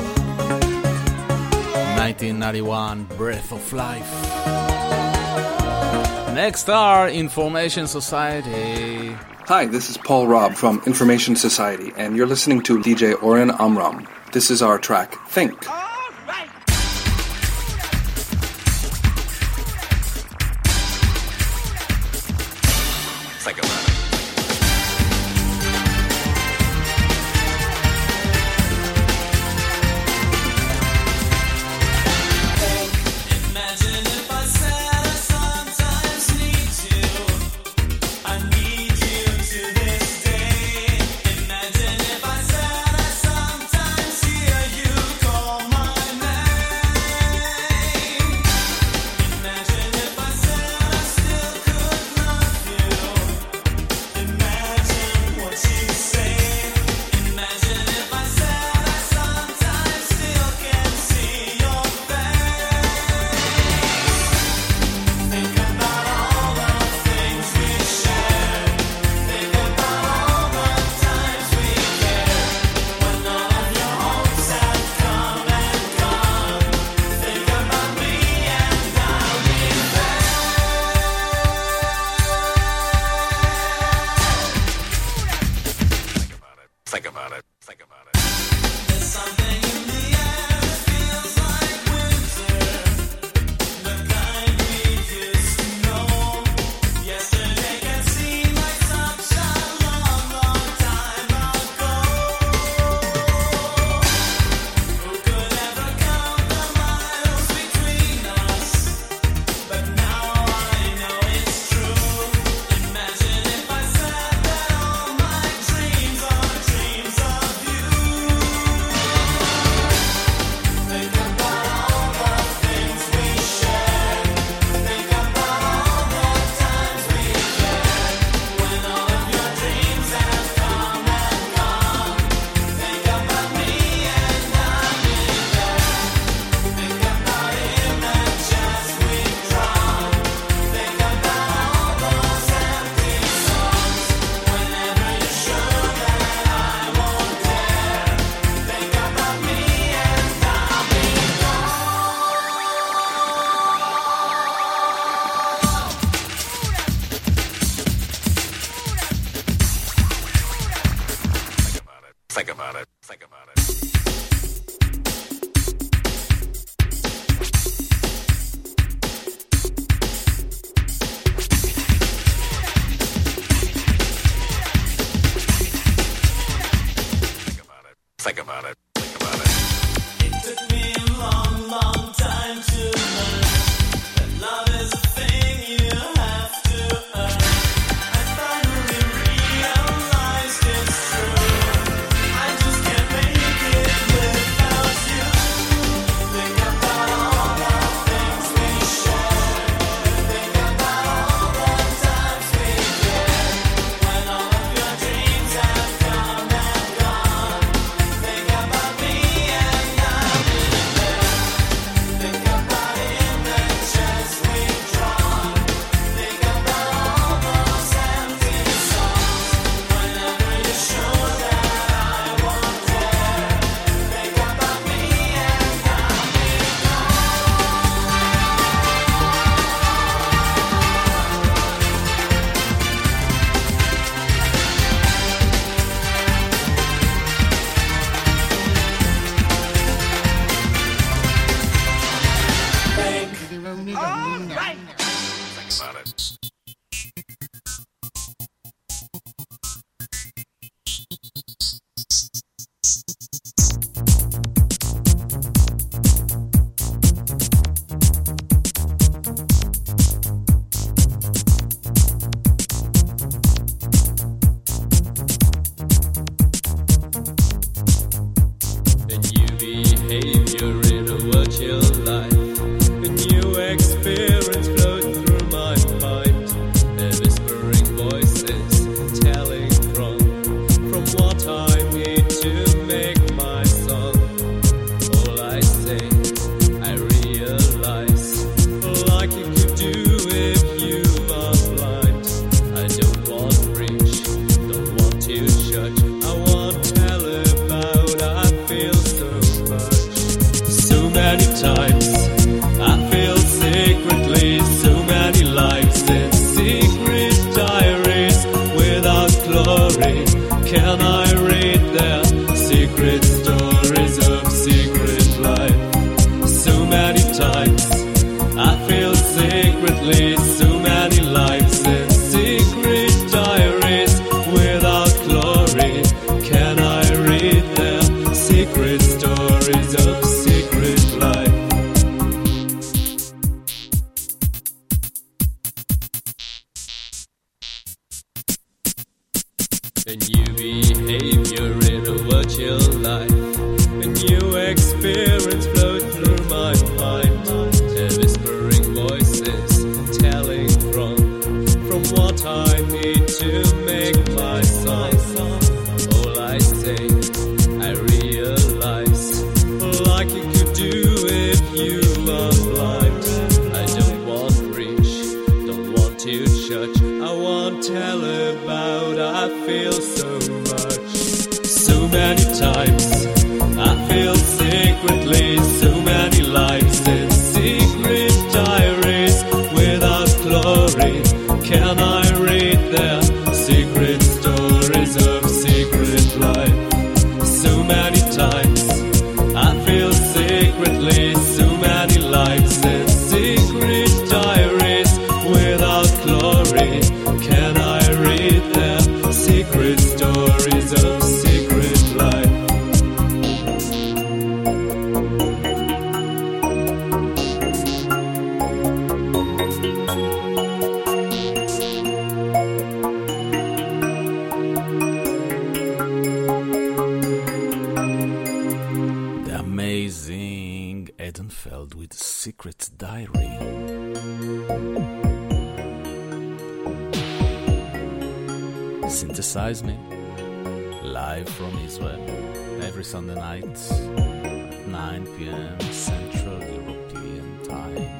nineteen ninety-one, Breath of Life. Next are Information Society. Hi, this is Paul Robb from Information Society, and you're listening to D J Oren Amram. This is our track, Think. Virtual life, a new experience flows through my mind. secretly so many lives and secret diaries without glory. Can I read them? Secret stories of secret life. A new behavior in a virtual life. A new experience flowed through my mind. The whispering voices telling from From what I need to make my song. All I say, I realize, like you could do if you are blind. I don't want preach, don't want to judge. I won't tell about, I feel so much. So many times I feel secretly so many lives and secret diaries without glory. Can I read their secret stories of secret life? So many times I feel secretly so many lives and secret diaries without glory. Can I read their secret stories of secret life? The amazing Edenfeld with Secret Diary. Synthesize Me, live from Israel, every Sunday night at nine p.m. Central European Time.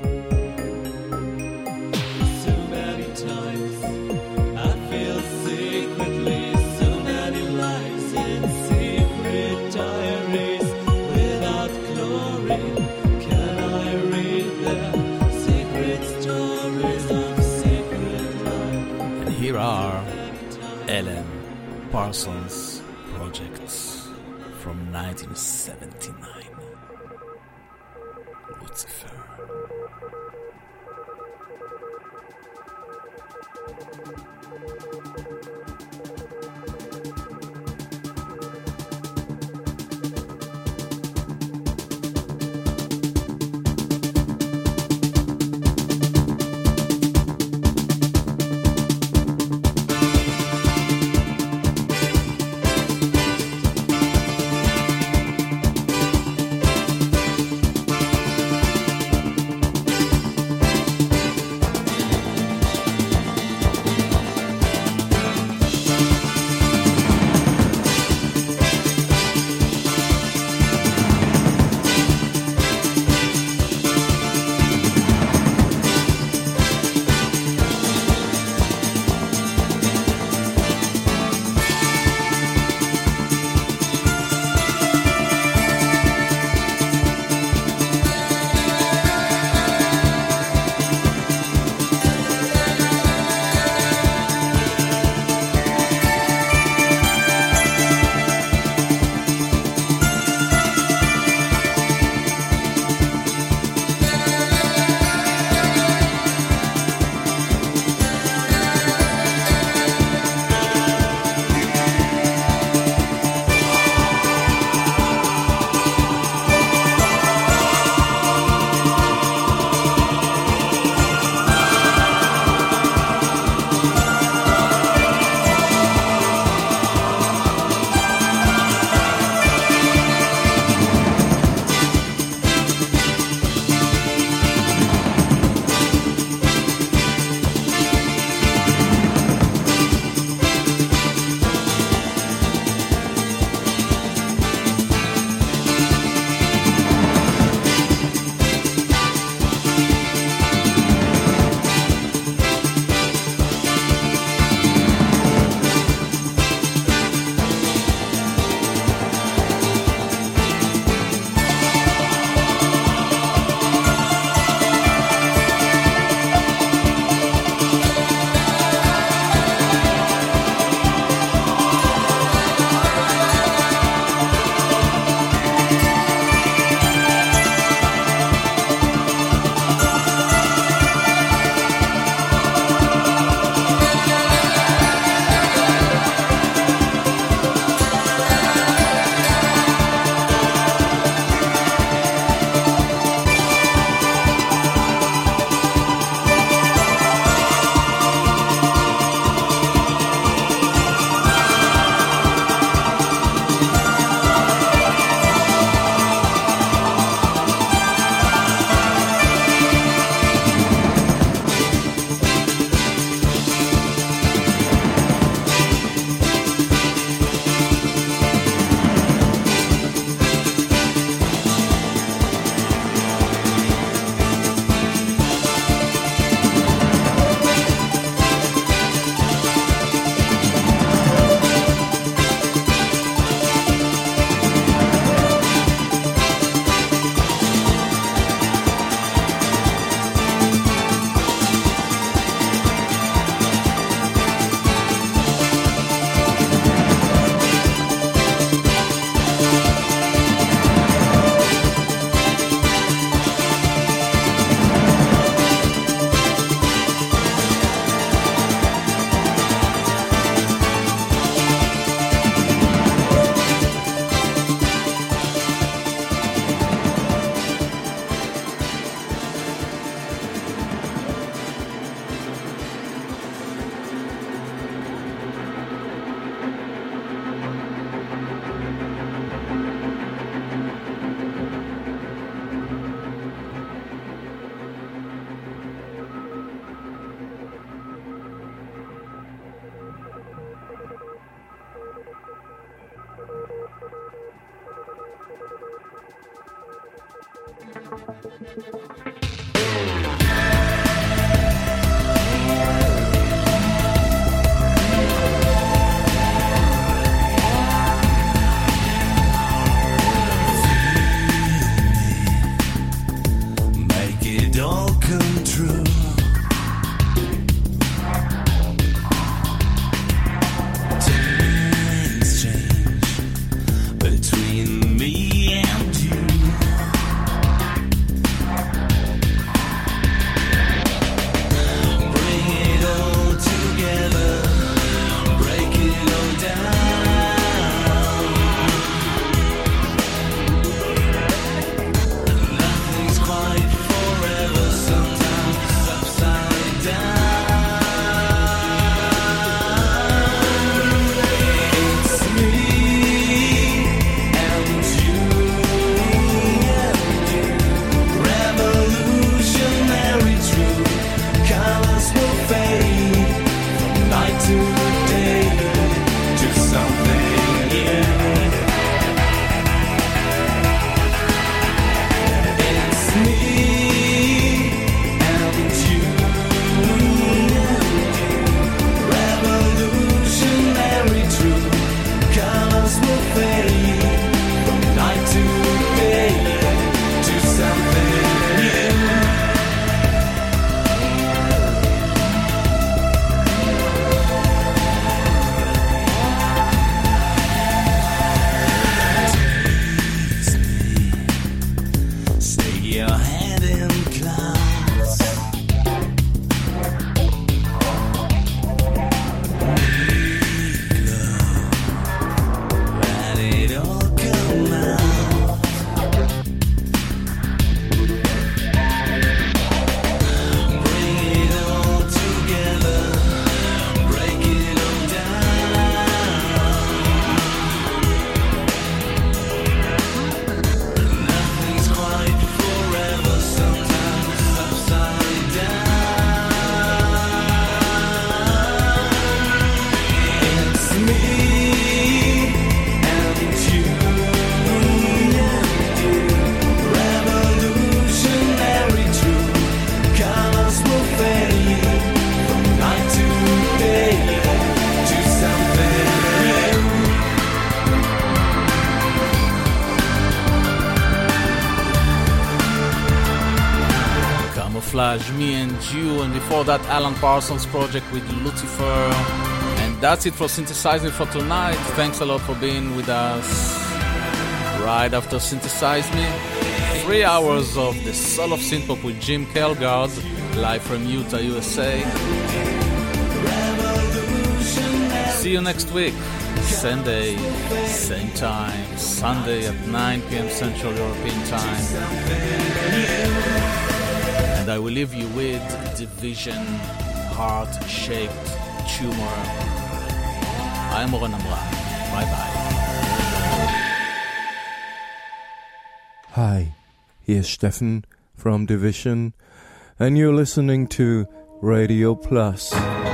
So many times I feel secretly so many lives in secret diaries without glory. Can I read them? Secret stories of secret life. And here are Ellen Parsons Projects from nineteen seventy-nine. Lucifer. Me and You, and before that Alan Parsons project with Lucifer. And that's it for Synthesizing for tonight. Thanks a lot for being with us. Right after Synthesize Me, three hours of the Soul of Synthpop with Jim Kelgard, live from Utah, U S A. See you next week, Sunday, same time, Sunday at nine p.m. Central European Time. And I will leave you with Division, Heart-Shaped Tumor. I'm Oren Amram. Bye-bye. Hi, here's Steffen from Division, and you're listening to Radio Plus.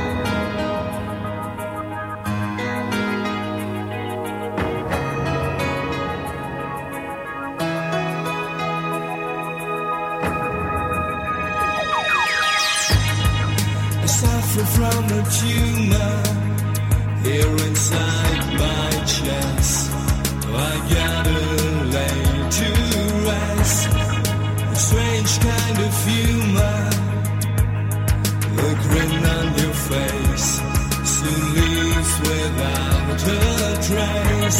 From a tumor here inside my chest, I gotta lay to rest. A strange kind of humor, the grin on your face soon leaves without a trace.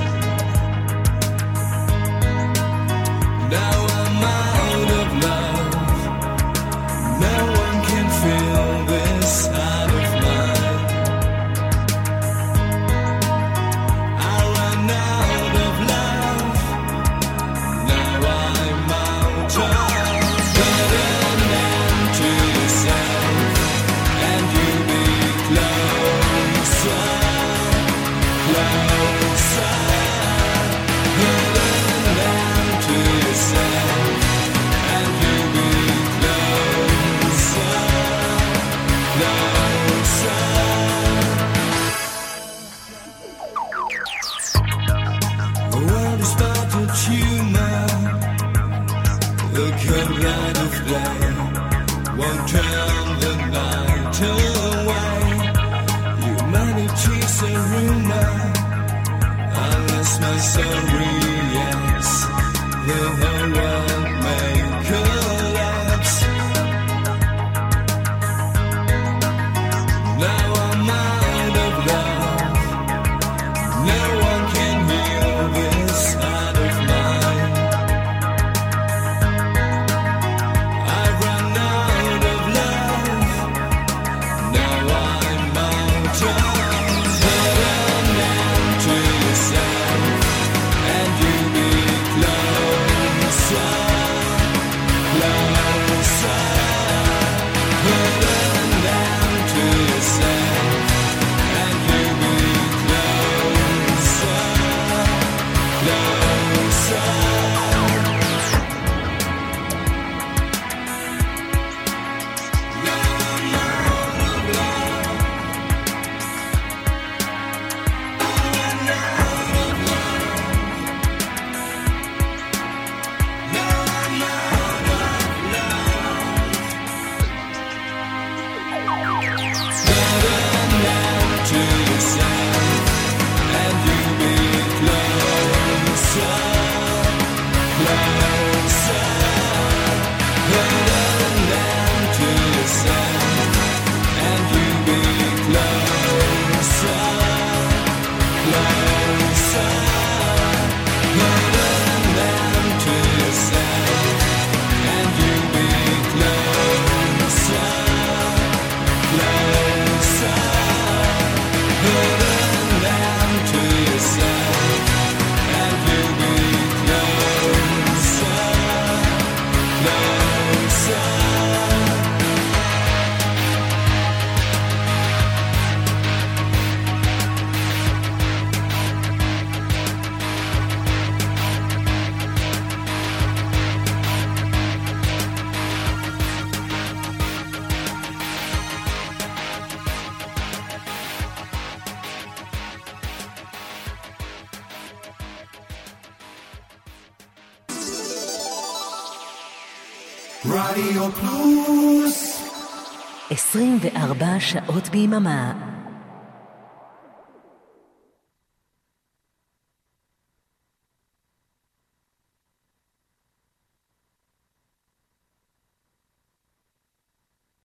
Now I'm out of love, no one can feel this out of mind. I ran out of love, now I'm out of. Put an end to yourself, and you'll be closer, closer. won't turn the night away. Humanity's a rumor, unless my soul reacts, the whole world may collapse. Now I'm out of love, no one can heal this heart of mine. I've run out of love, now I'm out of love. Put an end to yourself, and you be closer, closer. Put an end to yourself, and you be closer, closer. רדיו פלוס עשרים וארבע שעות ביממה